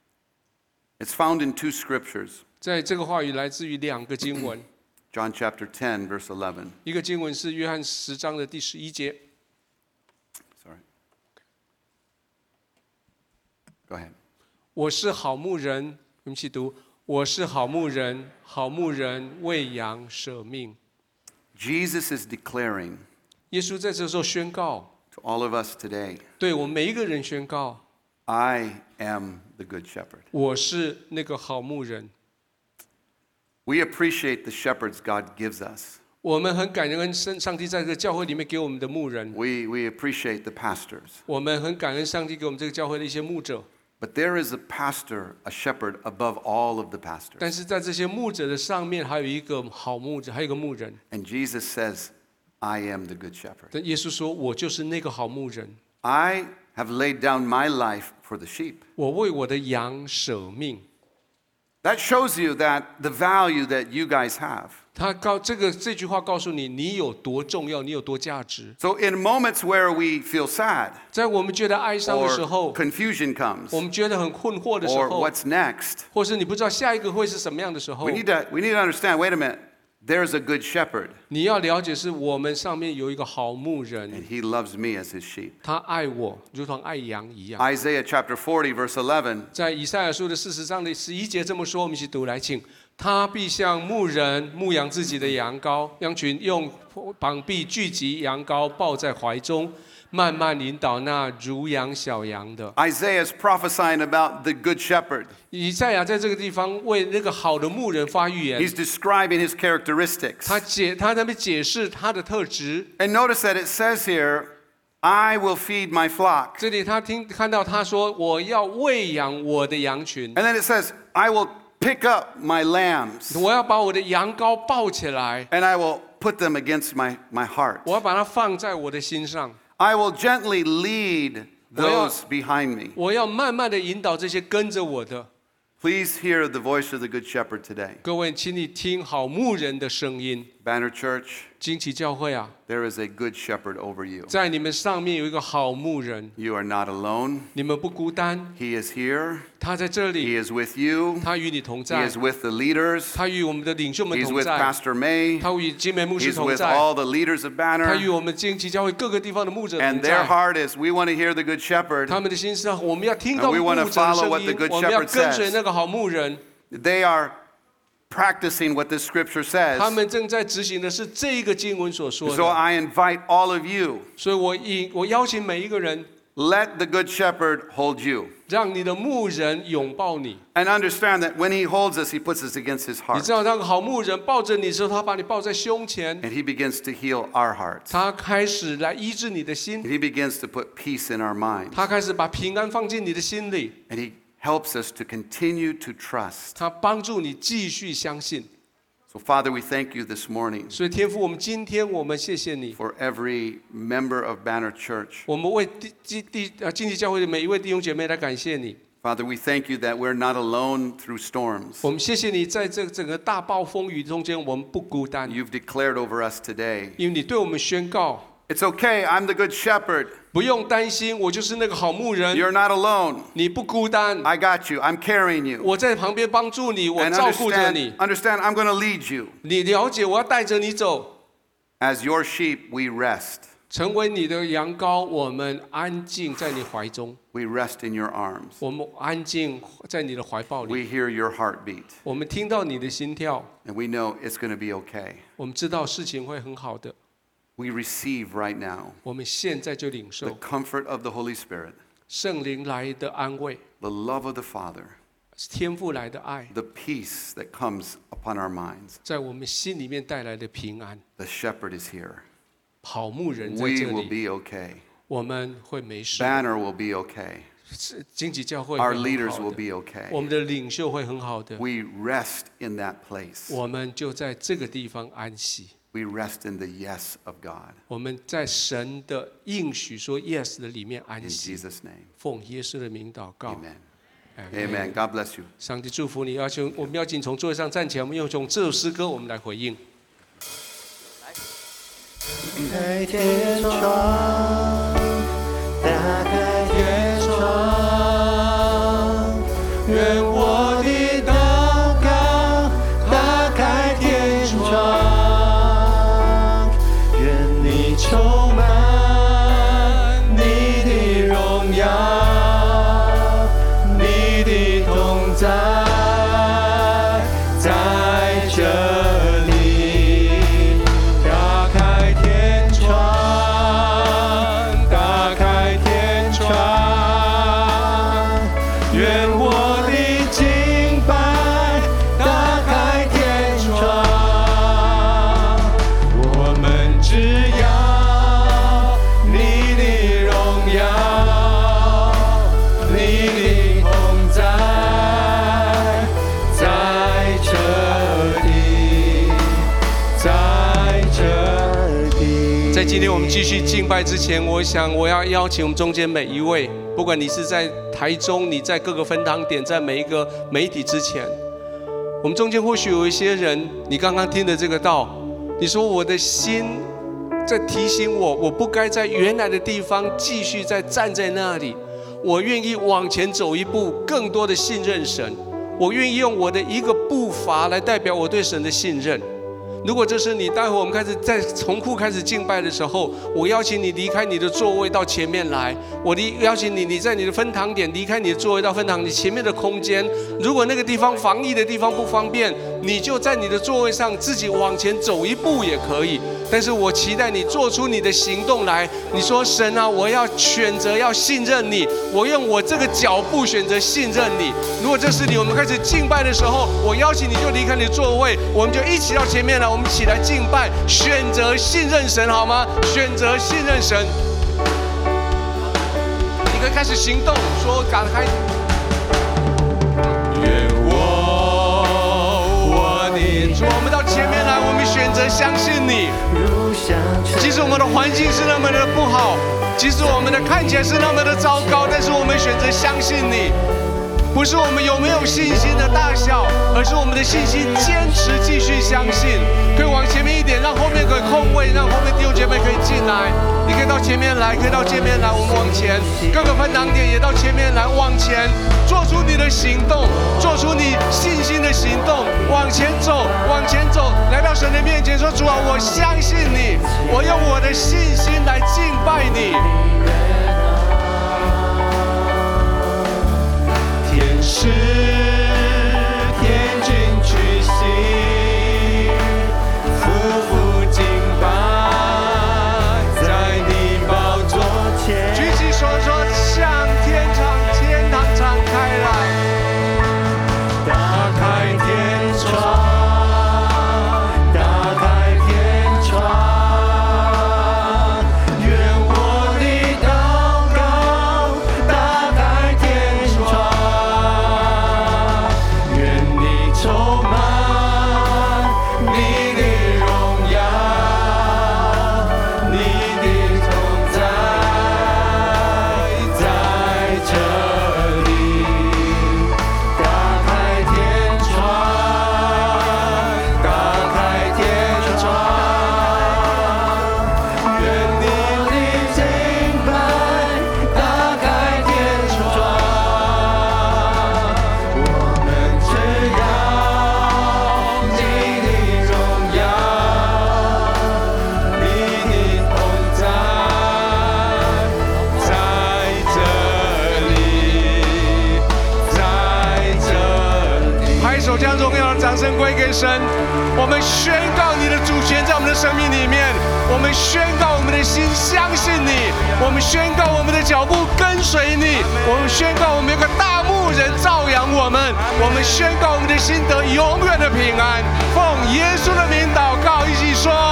It's found in two scriptures. 在這個話語來自於兩個經文， John chapter 10, verse 11. 一個經文是約翰10章的第11節。 Sorry. Go ahead. 我是好牧人，我們一起讀。我是好牧人，好牧人為羊捨命。 Jesus is declaring 耶穌在這時候宣告， to all of us today, 對我們每一個人宣告， I am the good shepherd. 我是那個好牧人。 We appreciate the shepherds God gives us. 我們很感恩上帝在這個教會裡面給我們的牧人， We appreciate the pastors. 我們很感恩上帝給我們這個教會的一些牧者。 But there is a pastor, a shepherd above all of the pastors. 但是在這些牧者的上面，還有一個好牧者，還有一個牧人。 And Jesus says, I am the good shepherd. 但耶穌說：“我就是那個好牧人， I have laid down my life for the sheep. 我為我的羊捨命。” That shows you that the value that you guys have. 這句話告訴你，你有多重要，你有多價值。 So in moments where we feel sad 在我們覺得哀傷的時 or 候， confusion 我 comes 們覺得很困惑的時 or 候， what's next, 或是你不知道下一個會是什麼樣的時候 we，need to understand, wait a minute, there's a good shepherd 你要了解是我們上面有一個好牧人， and he loves me as his sheep. 他愛我，如同愛羊一樣。 Isaiah chapter 40 verse 11, 在以賽亞書的40章的11節這麼說，我們一起讀來，請。他必像牧人牧養自己的羊群，用膀臂聚集羊羔，抱在懷中，慢慢引導那乳養小羊的。 Isaiah is prophesying about the good shepherd. 以賽亞在這個地方為那個好的牧人發預言， He's describing his characteristics. 他在那邊解釋他的特質。 And notice that it says here, I will feed my flock. 這裡他看到他說：“我要餵養我的羊群， And then it says, I will pick up my lambs 我要把我的羊羔抱起來， and I will put them against my heart. 我要把它放在我的心上， I will gently lead those behind me. 我要慢慢的引導這些跟着我的。” Please hear the voice of the good shepherd today. 各位，請你聽好牧人的聲音。 Banner Church, 驚奇教會啊， there is a good shepherd over you. 在你们上面有一個好牧人， You are not alone. 你們不孤單， He is here. 他在這 He 裡， is with you. 他與你同 He 在 is，with the leaders. 他與我們的領袖們 He's 同 with 在， Pastor May. 他與金梅牧師 He's 同 with 在， all the leaders of 他 Banner. 與我們驚奇教會各個地方的牧者同 And their 在。 heart is, we want to hear the good shepherd. 他們的心是，我們要聽到 And we 牧 want 者 to 的 follow 聲 what the 音， good 我們要 shepherd 跟隨 says. 那個好牧人。 They are practicing what this scripture 他 says. 們正在執行的是這個經文所說 So 的， I invite all of you, 所以我邀請每一個人， let the good shepherd hold you. 讓你的牧人擁抱你。 And understand that when he holds us, he puts us against his 你 heart. 知道，那個好牧人抱着你的時候，他把你抱在胸前， And he begins to heal our hearts. 他開始來醫治你的 And 心， he begins to put peace in our minds. 他開始把平安放進你的心裡， And he helps us to continue to trust. 他幫助你繼續相信。 So Father, we thank you this morning 所以天父，我們今天我們謝謝你， for every member of Banner Church. 我們為經濟教會的每一位弟兄姐妹來感謝你。 Father, we thank you that we're not alone through storms. 我們謝謝你，在這整個大暴風雨中間，我們不孤單， You've declared over us today. 因為你對我們宣告， It's okay, I'm the good shepherd. 不用擔心，我就是那個好牧人， You're not alone. 你不孤單， I got you. I'm carrying you. 我在旁邊幫助你，我 And 照顧着你， understand, I'm going to lead you. 你了解，我要帶着你走， As your sheep, we rest. 成為你的羊羔，我們安靜在你懷中， We rest in your arms. 我們安靜在你的懷抱裡， We hear your heartbeat. 我們聽到你的心跳， And we know it's going to be okay. 我們知道事情會很好的， We receive right now 我們現在就領 the 受 comfort of the Holy Spirit, 聖靈來的安慰， the love of the Father, 天父來的愛， the peace that comes upon our minds. 在我們心裡面帶來的平安。 The shepherd is here. 好牧人在 We 這 will 裡， be okay. 我們會沒事。 Banner will be okay. 經濟教會 Our 會 leaders 很好 will 的， be okay. 我們的領袖會很好的， We rest in that place. 我們就在這個地方安息。 We rest in the yes of God. 我們在神的應許說 yes 的裡面 In 安息。 Jesus' name. 奉耶穌的名禱告。 Amen. Amen. God bless you. 上帝祝福你。我們要請從座位上站起來，我們用這首詩歌，我們來回應。 開天窗，打開天窗，願我的禱告打開天窗，願你充滿你的榮耀，你的同在，在這今天我們繼續敬拜之前，我要邀請我們中間每一位，不管你是在台中，你在各個分堂點，在每一個媒體之前，我們中間或許有一些人，你剛剛聽的這個道，你說我的心在提醒我，我不該在原來的地方繼續再站在那裡，我願意往前走一步，更多的信任神，我願意用我的一個步伐來代表我對神的信任。如果這是你，待會我們開始在從庫開始敬拜的時候，我邀請你離開你的座位到前面來。我邀請你，你在你的分堂點離開你的座位到分堂你前面的空間。如果那個地方防疫的地方不方便，你就在你的座位上自己往前走一步也可以。但是我期待你做出你的行動來。你說神啊，我要選擇要信任你，我用我這個腳步選擇信任你。如果這是你，我們開始敬拜的時候，我邀請你就離開你的座位，我們就一起到前面來。我們一起來敬拜，選擇信任神，好嗎？選擇信任神，你可以開始行動，說趕開。願我的主，我們到前面來，我們選擇相信你。即使我們的環境是那麼的不好，即使我們的看起來是那麼的糟糕，但是我們選擇相信你。不是我們有沒有信心的大小，而是我們的信心堅持繼續相信。可以往前面一點。 點，讓後面可以空位，讓後面弟兄姐妹可以進來。你可以到前面來，可以到前面來，我們往前。各個分堂點也到前面來，往前，做出你的行動，做出你信心的行動，往前走，往前走，来到神的面前，说：主啊，我相信你，我用我的信心來敬拜你。 天使天君屈膝，匍匐敬拜，在你寶座前。 舉起手說：向天堂敞開來， 打開天窗，打開天窗，願我的禱告打開天窗，願你充滿你的榮耀，你的同在在這裡。打開天窗，打開天窗，願你的敬拜打開天窗，我們只要你的榮耀，你的同在在這裡，在這裡。 拍手，將榮耀的掌聲歸給神。我們宣告你的主權在我們的生命裡面，我們宣告我們的心相信你，我們宣告我們的腳步跟隨你，我們宣告我們有個大牧人照養我們，我們宣告我們的心得永遠的平安。奉耶穌的名禱告，一起說。